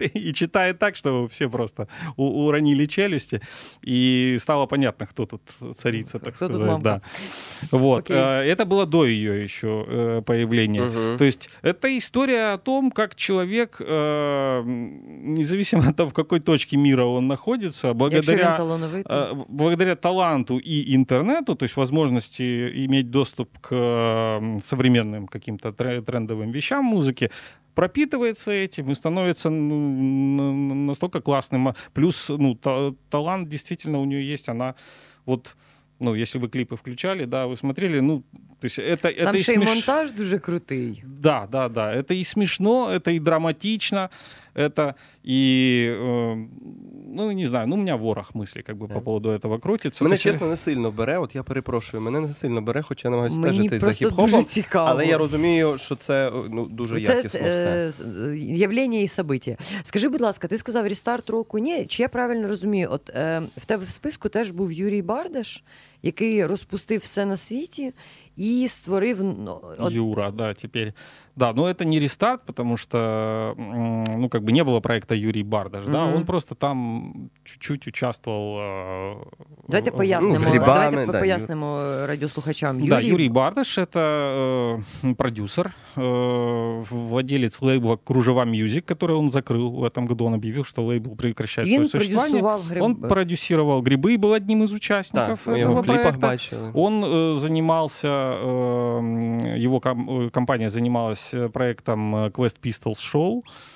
и читает так, что все просто уронили челюсти, и стало понятно, кто тут царица, так кто сказать. Тут да. Вот. Это было до ее еще появления. То есть это история о том, как человек, независимо от того, в какой точке мира он находится, благодаря таланту и интернету, то есть возможности иметь доступ к современным каким-то трендовым вещам музыки, пропитывается этим и становится настолько классным. Плюс талант действительно у нее есть, она вот... если ви кліпи включали, да, ви смотрели, то есть это там ще й монтаж дуже крутий. Да. Это и смешно, это и драматично, это и, не знаю, у меня ворох мыслей по поводу этого крутиться. Мене, чесно, не сильно бере, от я перепрошую, мене не сильно бере, хоча я намагаюся стежити за хіп-хопом, але я розумію, що це дуже якісно все. Явлення і события. Скажи, будь ласка, ти сказав рестарт року, ні? Чи я правильно розумію? От в тебе в списку теж був Юрій Бардаш, який розпустив все на світі и створив... Юра, да, теперь. Да, но это не рестарт, потому что, не было проекта Юрий Бардаш, да, он просто там чуть-чуть участвовал... Давайте пояснимо радіослухачам. Юрий Бардаш — это продюсер, владелец лейбла «Кружева Music», который он закрыл в этом году. Он объявил, что лейбл прекращает свое существование. Он продюсировал «Грибы», был одним из участников этого проекта. Он занимался, его компания занималась проектом Quest Pistols Show.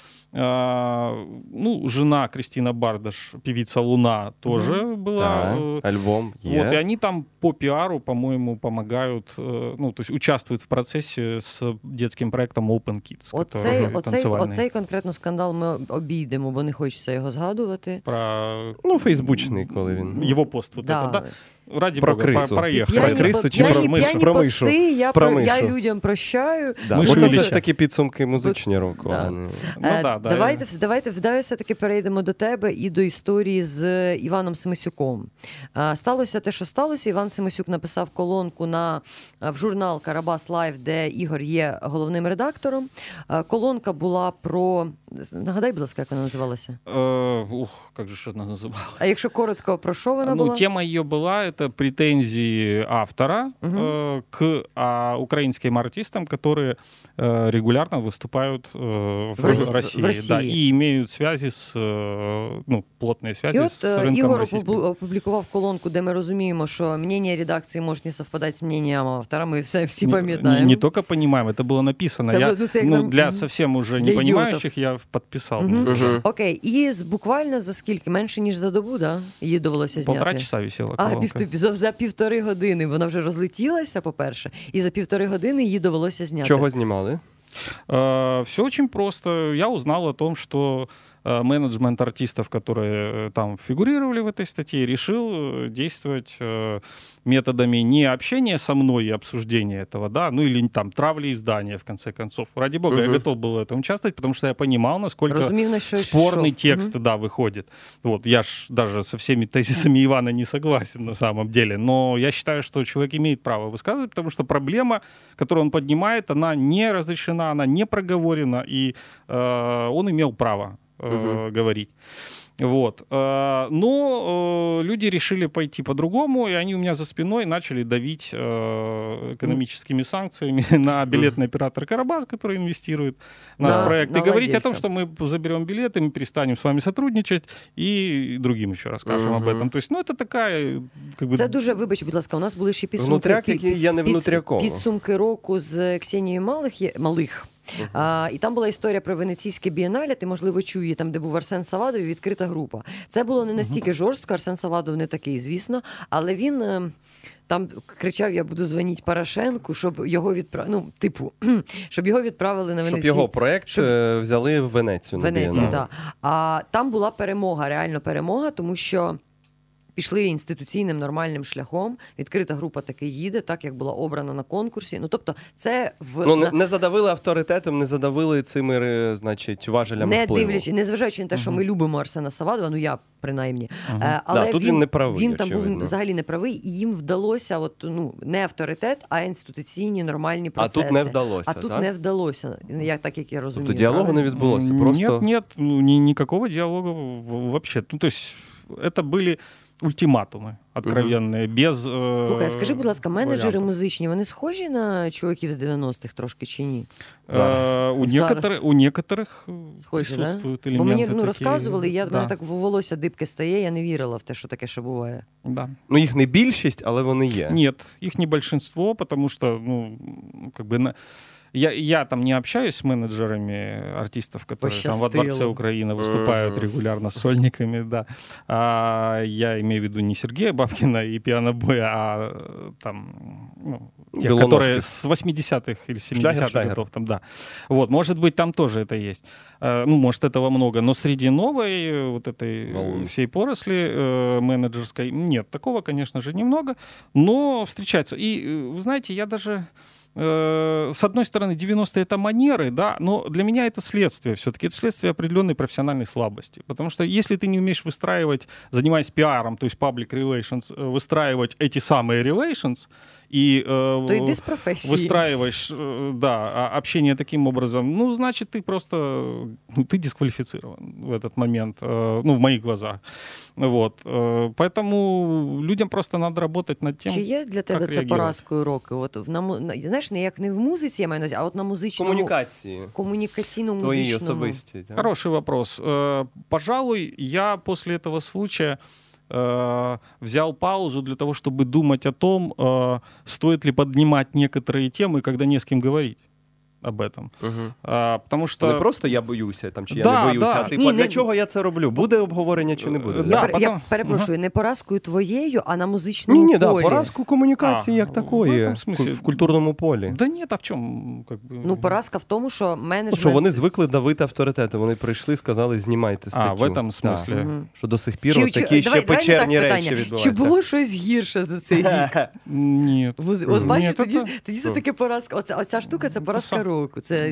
Жена Кристина Бардаш, певица «Луна», тоже была. Да, альбом. Вот, и они там по пиару, по-моему, помогают, то есть участвуют в процессе с детским проектом Open Kids. Оцей конкретно скандал ми обійдемо, бо не хочеться його згадувати. Фейсбучний, коли він. Його пост, да. Ради про Бога, крису. проехали. Про крису чи про мишу? Я людям прощаю. Да. Це все ж таки підсумки музичні року. Давайте все-таки перейдемо до тебе і до історії з Іваном Семисюком. Сталося те, що сталося. Іван Семисюк написав колонку в журнал «Карабас Лайв», де Ігор є головним редактором. Колонка була про... Нагадай, будь ласка, як вона називалася? Як же вона називалася? А якщо коротко, про що вона була? Тема її була это претензии автора к украинским артистам, которые регулярно выступают в России. Да, и имеют связи плотные связи с рынком российским. Ігор опублікував колонку, де ми розуміємо, що мнение редакции может не совпадать с мнением автора. Мы всі пам'ятаємо. Не только понимаем, это было написано. Для совсем уже не понимающих я подписал. Окей, і буквально за скільки? Менше, ніж за добу, да? Її довелося зняти? 1,5 часа висела колонка. За 1,5 години вона вже розлетілася, по-перше, і за 1,5 години її довелося зняти. Чого знімали? Все очень просто. Я узнал о том, что менеджмент артистов, которые там фигурировали в этой статье, решил действовать методами не общения со мной и обсуждения этого, да, или там травли издания, в конце концов. Ради бога, я готов был в этом участвовать, потому что я понимал, насколько спорный текст, выходит. Вот, я ж даже со всеми тезисами Ивана не согласен на самом деле, но я считаю, что человек имеет право высказывать, потому что проблема, которую он поднимает, она не разрешена, она не проговорена, и он имел право говорить. Вот. Но люди решили пойти по-другому, и они у меня за спиной начали давить экономическими санкциями на билетный оператор «Карабас», который инвестирует в наш проект, и говорить о том, что мы заберем билеты, мы перестанем с вами сотрудничать, и другим еще расскажем об этом. То есть, это такая... Це дуже, вибач, будь ласка, у нас були ще підсумки. Внутряк, який я не внутрякова. Підсумки року з Ксенією Малих. І там була історія про Венеційське бієнале, ти, можливо, чує, там, де був Арсен Савадов і відкрита група. Це було не настільки жорстко, Арсен Савадов не такий, звісно, але він там кричав, я буду дзвонити Порошенку, щоб його щоб його відправили на Венецію. Щоб його проєкт взяли в Венецію. Так. А там була перемога, реально перемога, тому що пішли інституційним нормальним шляхом, відкрита група таки їде, так як була обрана на конкурсі. Ну, тобто, це не задавили авторитетом, не задавили цими, значить, важелями впливу. Незважаючи на те, що ми любимо Арсена Савадова, ну я принаймні. Але тут він не правий. Він там був взагалі не правий, і їм вдалося не авторитет, а інституційні нормальні процеси. А тут не вдалося, тут не вдалося, так як я розумію. Тобто діалогу не відбулося? Нет, никакого диалога вообще. Ну, то есть это были ультиматуми откровенні, без Слухай, скажи, будь ласка, менеджери музичні, вони схожі на чуваків з 90-х трошки чи ні? У некоторих присутствують елементи. Бо мені розказували, мене так волосся дибке стає, я не вірила в те, що таке ще буває. Да. Ну, їх не більшість, але вони є. Нет, их не большинство, потому что, Я там не общаюсь с менеджерами артистов, которые там во Дворце Украины выступают регулярно с сольниками, да. Я имею в виду не Сергея Бабкина и пианобоя, а там, те, которые с 80-х или 70-х годов там, да. Вот, может быть, там тоже это есть. Может, этого много, но среди новой вот этой всей поросли менеджерской нет. Такого, конечно же, немного, но встречается. И, вы знаете, я даже... С одной стороны, 90-е это манеры, да, но для меня это следствие все-таки. Это следствие определенной профессиональной слабости. Потому что если ты не умеешь выстраивать, занимаясь пиаром, то есть public relations, выстраивать эти самые relations, и выстраиваешь общение таким образом, значит, ты просто ты дисквалифицирован в этот момент, в моих глазах. Вот. Поэтому людям просто надо работать над тем, чи є для тебе це поразкою року? Знаєш, не як не в музиці, я маю на увазі, а от на музичному... комунікаційному твої музичному. Особисті. Да? Хороший вопрос. Пожалуй, я после этого случая взял паузу для того, чтобы думать о том, стоит ли поднимать некоторые темы, когда не с кем говорить об этом. Потому що... Не просто я боюся, чи я не боюся, а для чого я це роблю? Буде обговорення чи не буде? Я перепрошую, не поразкою твоєю, а на музичному полі. Ні, поразку комунікації як такої, в культурному полі. Да ні, а в чому? Поразка в тому, що менеджмент... Що вони звикли давити авторитети, вони прийшли, сказали, знімайте статтю. В этом смислі. Що до сих пір такі ще печерні речі відбуваються. Чи було щось гірше за цей рік? Ні. От бачиш, тоді це таке поразка. Оця штука – це поразка року. Це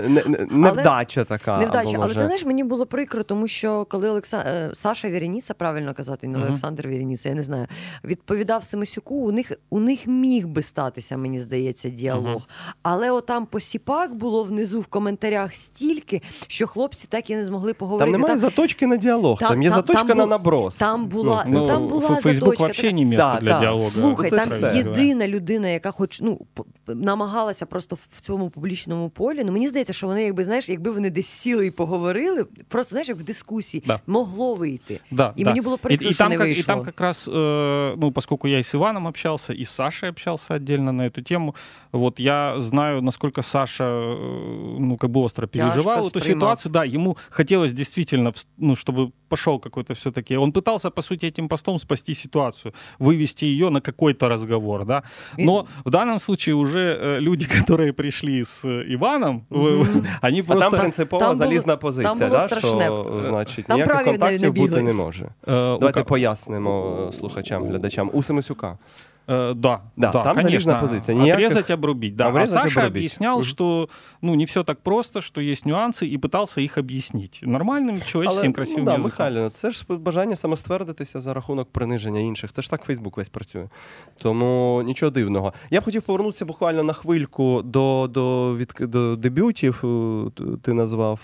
невдача така. Невдача. Але ти знаєш, мені було прикро, тому що коли Саша Вєрініца, правильно казати, не Олександр Вєрініца, я не знаю, відповідав Семисюку, у них міг би статися, мені здається, діалог. Але отам посіпак було внизу в коментарях стільки, що хлопці так і не змогли поговорити. Там немає заточки на діалог, там є заточка на наброс. Там була заточка. Фейсбук взагалі не місце для діалогу. Слухай, там єдина людина, яка хоч намагалася просто в цьому публічному полі. Мені здається, що вони, якби вони десь сіли і поговорили, просто, знаєш, як в дискусії, могло вийти. Мені було прикро, що не вийшло. И там как раз, поскольку я и с Иваном общался, и с Сашей общался отдельно на эту тему, вот я знаю, насколько Саша, остро переживал эту ситуацию. Да, ему хотелось действительно, чтобы пошел какой-то все-таки... Он пытался, по сути, этим постом спасти ситуацию, вывести ее на какой-то разговор, да. Но в данном случае уже люди, которые пришли с Іваном, вони просто... там принципово залізна позиція, що, значить, ніяких контактів бути не може. Давайте пояснимо слухачам, глядачам. У Семисюка. Да, там залезная позиция. Отрезать, обрубить. Да. А Саша объяснял, что не все так просто, что есть нюансы, и пытался их объяснить нормальным, человеческим, красивым язиком. Михайло, це ж бажання самоствердитися за рахунок приниження інших. Це ж так Фейсбук весь працює. Тому нічого дивного. Я б хотів повернутися буквально на хвильку до дебютів. Ти назвав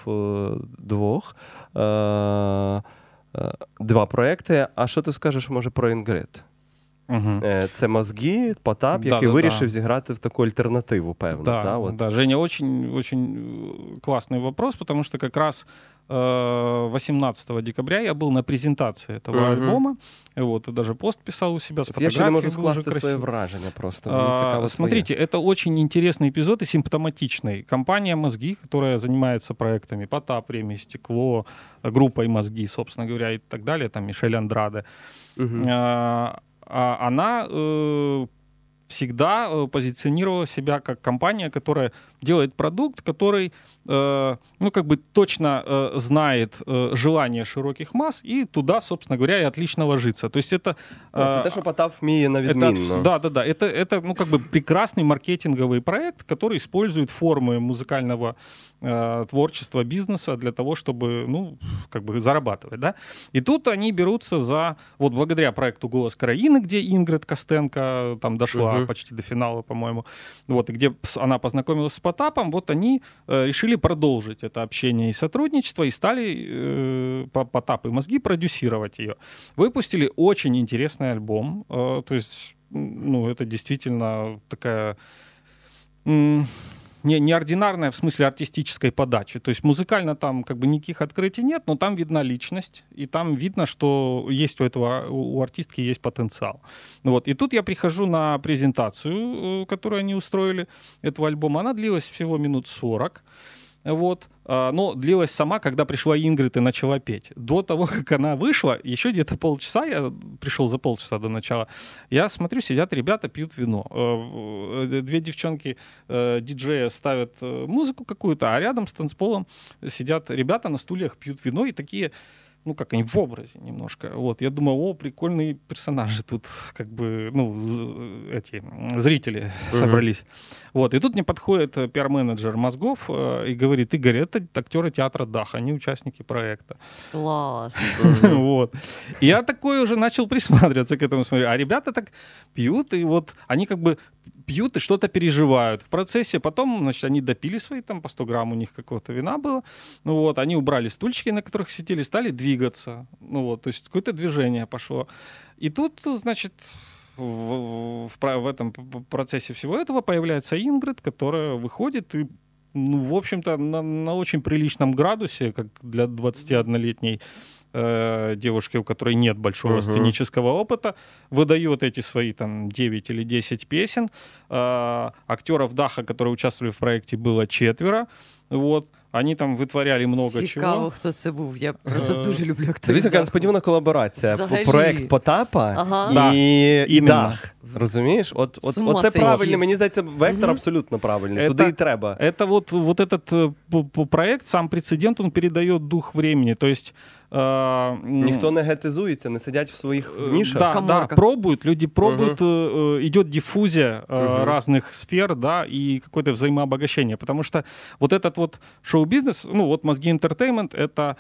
два проекти. А що ти скажеш, може, про Інгрид? Це «Мозги», Потап, який вирішив зіграти в таку альтернативу, певно. Да, Женя, очень классный вопрос, потому что как раз 18 декабря я был на презентации этого альбома, вот, и даже пост писал у себя с фотографией. Я ще не можу скласти своє враження просто. Смотрите, это очень интересный эпизод и симптоматичный. Компания «Мозги», которая занимается проектами «Потап», «Время и стекло», группой «Мозги», собственно говоря, и так далее, там Мишель Андраде, она всегда позиционировала себя как компания, которая делает продукт, который точно знает желания широких масс и туда, собственно говоря, и отлично ложится. То есть это... Это що Потап вміє на відмінно. Да. Это прекрасный маркетинговый проект, который использует формы музыкального творчества, бизнеса для того, чтобы, зарабатывать, да. И тут они берутся за, благодаря проекту «Голос Краины», где Ингрид Костенко там дошла почти до финала, по-моему, и где она познакомилась с Потапом, они решили продолжить это общение и сотрудничество, и стали Потап и Мозги продюсировать ее. Выпустили очень интересный альбом, то есть, это действительно такая... неординарная в смысле артистической подачи. То есть музыкально там никаких открытий нет, но там видна личность, и там видно, что есть у артистки есть потенциал. И тут я прихожу на презентацию, которую они устроили, этого альбома. Она длилась всего минут 40. Но длилась сама, когда пришла Ингрид и начала петь. До того, как она вышла, еще где-то полчаса, я пришел за полчаса до начала, я смотрю, сидят ребята, пьют вино. Две девчонки диджея ставят музыку какую-то, а рядом с танцполом сидят ребята на стульях, пьют вино и такие... они в образе немножко. Я думаю, прикольные персонажи тут, эти зрители собрались. И тут мне подходит пиар-менеджер Мозгов и говорит: Игорь, это актеры театра «Дах», они участники проекта. Класс. И я такой уже начал присматриваться к этому, смотрю. А ребята так пьют, и они пьют и что-то переживают в процессе. Потом, они допили свои, по 100 грамм у них какого-то вина было. Они убрали стульчики, на которых сидели, стали двигаться. То есть какое-то движение пошло. И тут, в этом процессе всего этого появляется Ингрид, которая выходит и, в общем-то, на очень приличном градусе, как для 21-летней девушки, у которой нет большого сценического опыта, выдает эти свои 9 или 10 песен. Актеров «Даха», которые участвовали в проекте, было 4. Они там витворяли много чого. Цікаво, хто це був. Я просто дуже люблю акторів. Дивіться, така несподівана колаборація. Проект Потапа і «Дах». Розумієш? Оце правильний, мені здається, вектор абсолютно правильний. Туди і треба. Это вот этот проект, сам прецедент, он передает дух времени. То есть ніхто не гетизується, не сидять в своїх нішах. Да, пробуют, люди пробуют, идет диффузия разных сфер, да, и какое-то взаимообогащение, потому что этот шоу-бизнес, Мозги Entertainment, это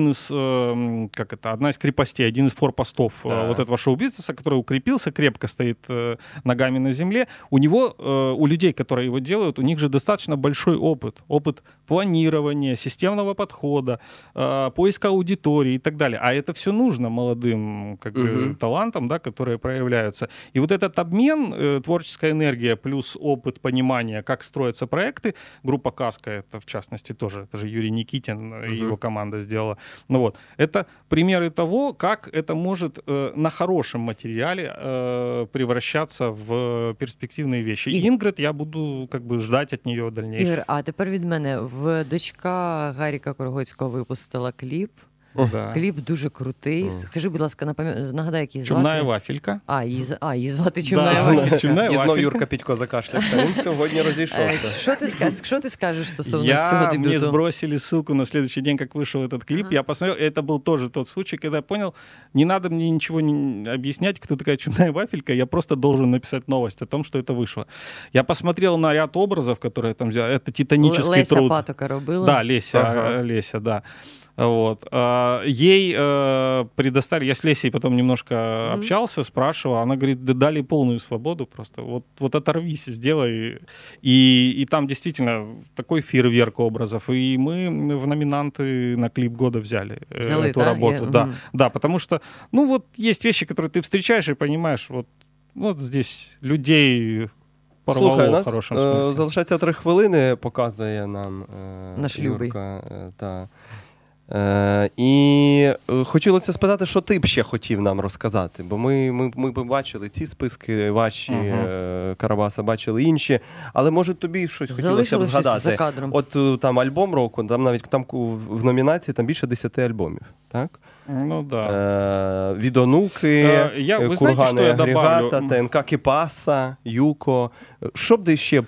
одна из крепостей, один из форпостов этого шоу-бизнеса, который укрепился, крепко стоит ногами на земле. У людей, которые его делают, у них же достаточно большой опыт планирования, системного подхода, поиска аудитории и так далее. А это все нужно молодым талантам, да, которые проявляются. И этот обмен, творческая энергия плюс опыт понимания, как строятся проекты, группа «Каска», это в частности тоже, это же Юрий Никитин и его команда сделала. Это примеры того, как это может на хорошем материале превращаться в перспективные вещи. И Ингрид, я буду ждать от нее дальнейшего. Ігор, а тепер від мене. Дочка Гаріка Коргоцького випустила кліп. Да. Кліп дуже крутий. Скажи, будь ласка, нагадай, як її звати? Чумная вафелька. Її звати Чумная вафелька. І знов Юрка Підько закашлявся. Він сьогодні розійшовся. Що ти скажеш стосовно цього дебюту? Мне сбросили ссылку на следующий день, как вышел этот клип. Я посмотрел, это был тоже тот случай, когда я понял, не надо мне ничего объяснять, кто такая Чумная вафелька, я просто должен написать новость о том, что это вышло. Я посмотрел на ряд образов, которые там взяли. Это титанический труд. Леся Патока робила? Да, Леся, да. Ей предоставили, я с Лесей потом немножко общался, спрашивал, она говорит, да дали полную свободу просто, оторвись, сделай, и там действительно такой фейерверк образов, и мы в номинанты на клип года взяли эту работу, да, потому что, есть вещи, которые ты встречаешь и понимаешь, здесь людей порвало. Слухай, в хорошем смысле. Залишається 3 хвилини, показує нам наш Любий. Юрка, І хотілося спитати, що ти б ще хотів нам розказати, бо ми бачили ці списки ваші, Карабаса бачили інші, але може тобі щось хотілося б згадати. За кадром. От там альбом року, там навіть там в номінації там більше 10 альбомів, так? Ну да. Від Онуки, Кургани Агрегата, ТНК Кіпаса, Юко. Що б ти ще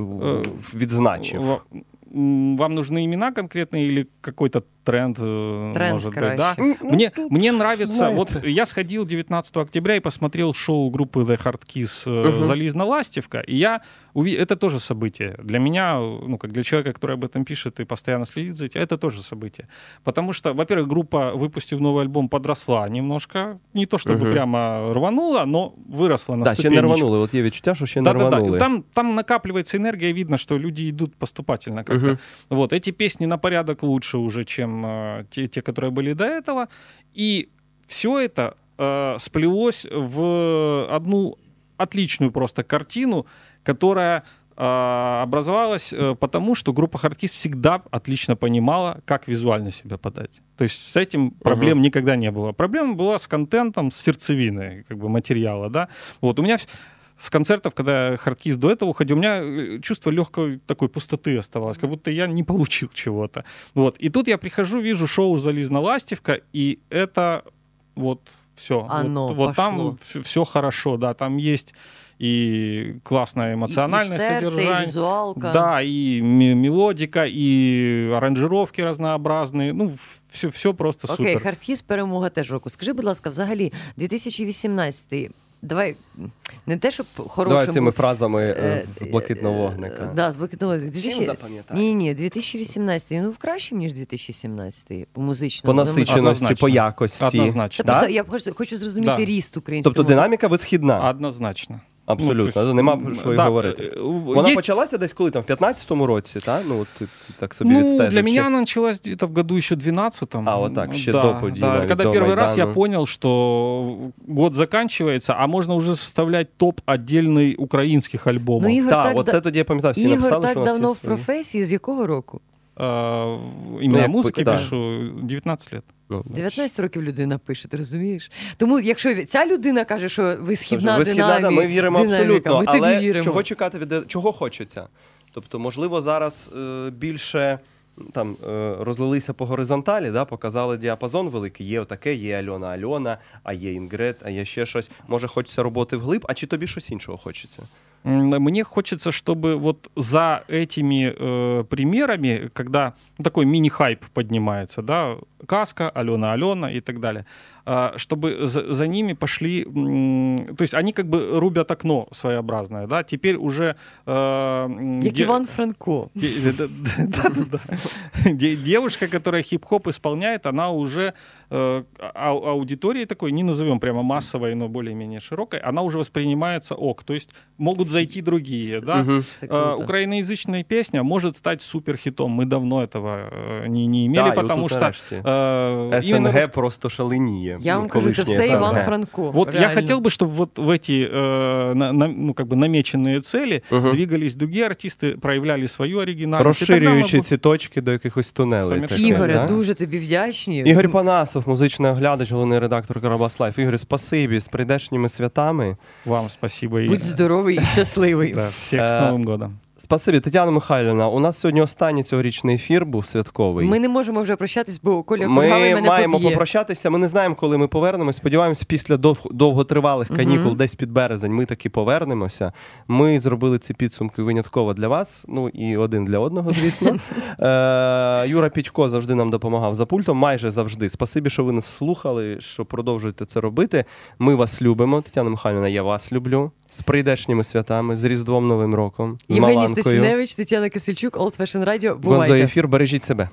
відзначив? Вам нужны имена конкретные или какой-то тренд может быть, да? Мне нравится, вот я сходил 19 октября и посмотрел шоу группы The Hard Kiss «Залізна ластівка», и это тоже событие. Для меня, ну, как для человека, который об этом пишет и постоянно следит за этим, это тоже событие. Потому что, во-первых, группа, выпустив новый альбом, подросла немножко. Не то, чтобы прямо рванула, но выросла на ступенечку. Да, ще не рванули. Вот є відчуття, що ще не рванули. Там накапливается энергия, видно, что люди идут поступательно как-то. Вот, эти песни на порядок лучше уже, чем те, которые были до этого. И все это сплелось в одну отличную просто картину, которая образовалась потому, что группа Hard Kiss всегда отлично понимала, как визуально себя подать. То есть с этим проблем никогда не было. Проблема была с контентом, с сердцевиной как бы, материала. Да? Вот, у меня с концертов, когда Hard Kiss до этого уходил, у меня чувство легкой такой пустоты оставалось, как будто я не получил чего-то. Вот. И тут я прихожу, вижу шоу «Залізна ластівка», и это вот все. Вот там все хорошо, да, там есть и классное эмоциональное содержание. И визуалка. Да, и мелодика, и аранжировки разнообразные. Ну, все просто супер. Окей, Hard Kiss перемога теж року. Скажи, будь ласка, взагалі, 2018 давай, не те, щоб хорошим... Давай цими фразами з «Блакитного вогника». Да, з «Блакитного вогника». Чим запам'ятається? Ні, 2018, ну, кращим, ніж 2017, по музичному. По насиченості, по якості. Однозначно. Да? Я хочу зрозуміти ріст української Тобто динаміка висхідна? Однозначно. Абсолютно, ну, нема про що й говорити. Вона почалася десь коли, там, в 15-му році, так? Ну, от ти так собі відстежив. Для меня она началась где-то в году еще 12-м. А, вот так, еще до події. Да, когда первый раз я понял, что год заканчивается, а можно уже составлять топ отдельный українських альбомів. Ну, так, оце тоді я пам'ятав, всі написали, що у нас є свої. Ігор так давно в професії, з якого року? Іменно музики пишу 19 лет. 19 років людина пише, ти розумієш? Тому якщо ця людина каже, що висхідна динаміка, ми віримо абсолютно, ми тобі віримо. Чого чекати, чого хочеться? Тобто, можливо, зараз більше там розлилися по горизонталі, да, показали діапазон великий, є отаке, є Альона, а є Інгрид, а є ще щось. Може, хочеться роботи вглиб, а чи тобі щось іншого хочеться? Мне хочется, чтобы вот за этими примерами, когда такой мини-хайп поднимается, да, Казка, Алена и так далее, чтобы за ними пошли, то есть они как бы рубят окно своеобразное, да, теперь уже... Як Иван Франко. Девушка, которая хип-хоп исполняет, она уже аудиторией такой, не назовем прямо массовой, но более-менее широкой, она уже воспринимается то есть могут зайти другие, да. Украиноязычная песня может стать суперхитом, мы давно этого не имели, потому что... СНГ просто шаленіє. Я вам кажу, це все Іван Франко. Вот я хотел бы, чтобы вот в эти ну, как бы намеченные цели двигались другие артисты, проявляли свою оригинальность. Розширюючи ці точки до якихось тунелей. Ігоре, дуже тобі вдячні. Ігор Панасов, музичний оглядач, головний редактор Карабас Лайф. Ігор, спасибі, з прийдешніми святами. Вам спасибо. Будь здоровий і щасливий. Да, всіх з Новим годом. Спасибі, Тетяна Михайлівна. У нас сьогодні останній цьогорічний ефір був святковий. Ми не можемо вже прощатись, бо Коля Кургавий мене поб'є. Ми маємо попрощатися. Ми не знаємо, коли ми повернемось. Сподіваємося, після довготривалих канікул, десь під березень, ми таки повернемося. Ми зробили ці підсумки винятково для вас, ну і один для одного, звісно. Юра Пітько завжди нам допомагав за пультом, майже завжди. Спасибі, що ви нас слухали, що продовжуєте це робити. Ми вас любимо. Тетяна Михайлівна, я вас люблю. З прийдешніми святами, з Різдвом, Новим роком, з Євгеній Маланкою. Стасіневич, Тетяна Кисельчук, Old Fashion Radio. Бувайте. Гонзо ефір, бережіть себе.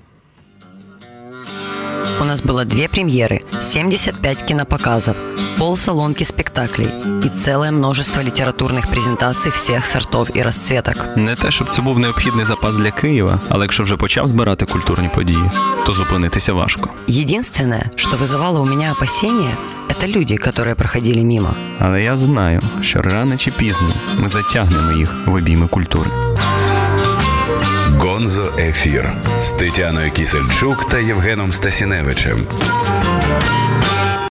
У нас было 2 премьеры, 75 кинопоказов, полсалонки спектаклей и целое множество литературных презентаций всех сортов и расцветок. Не те, щоб це був необхідний запас для Києва, але якщо вже почав збирати культурні події, то зупинитися важко. Единственное, что вызывало у меня опасения, это люди, которые проходили мимо. Але я знаю, що рано чи пізно ми затягнемо їх в обійми культури. Гонзо Ефір з Тетяною Кісельчук та Євгеном Стасіневичем.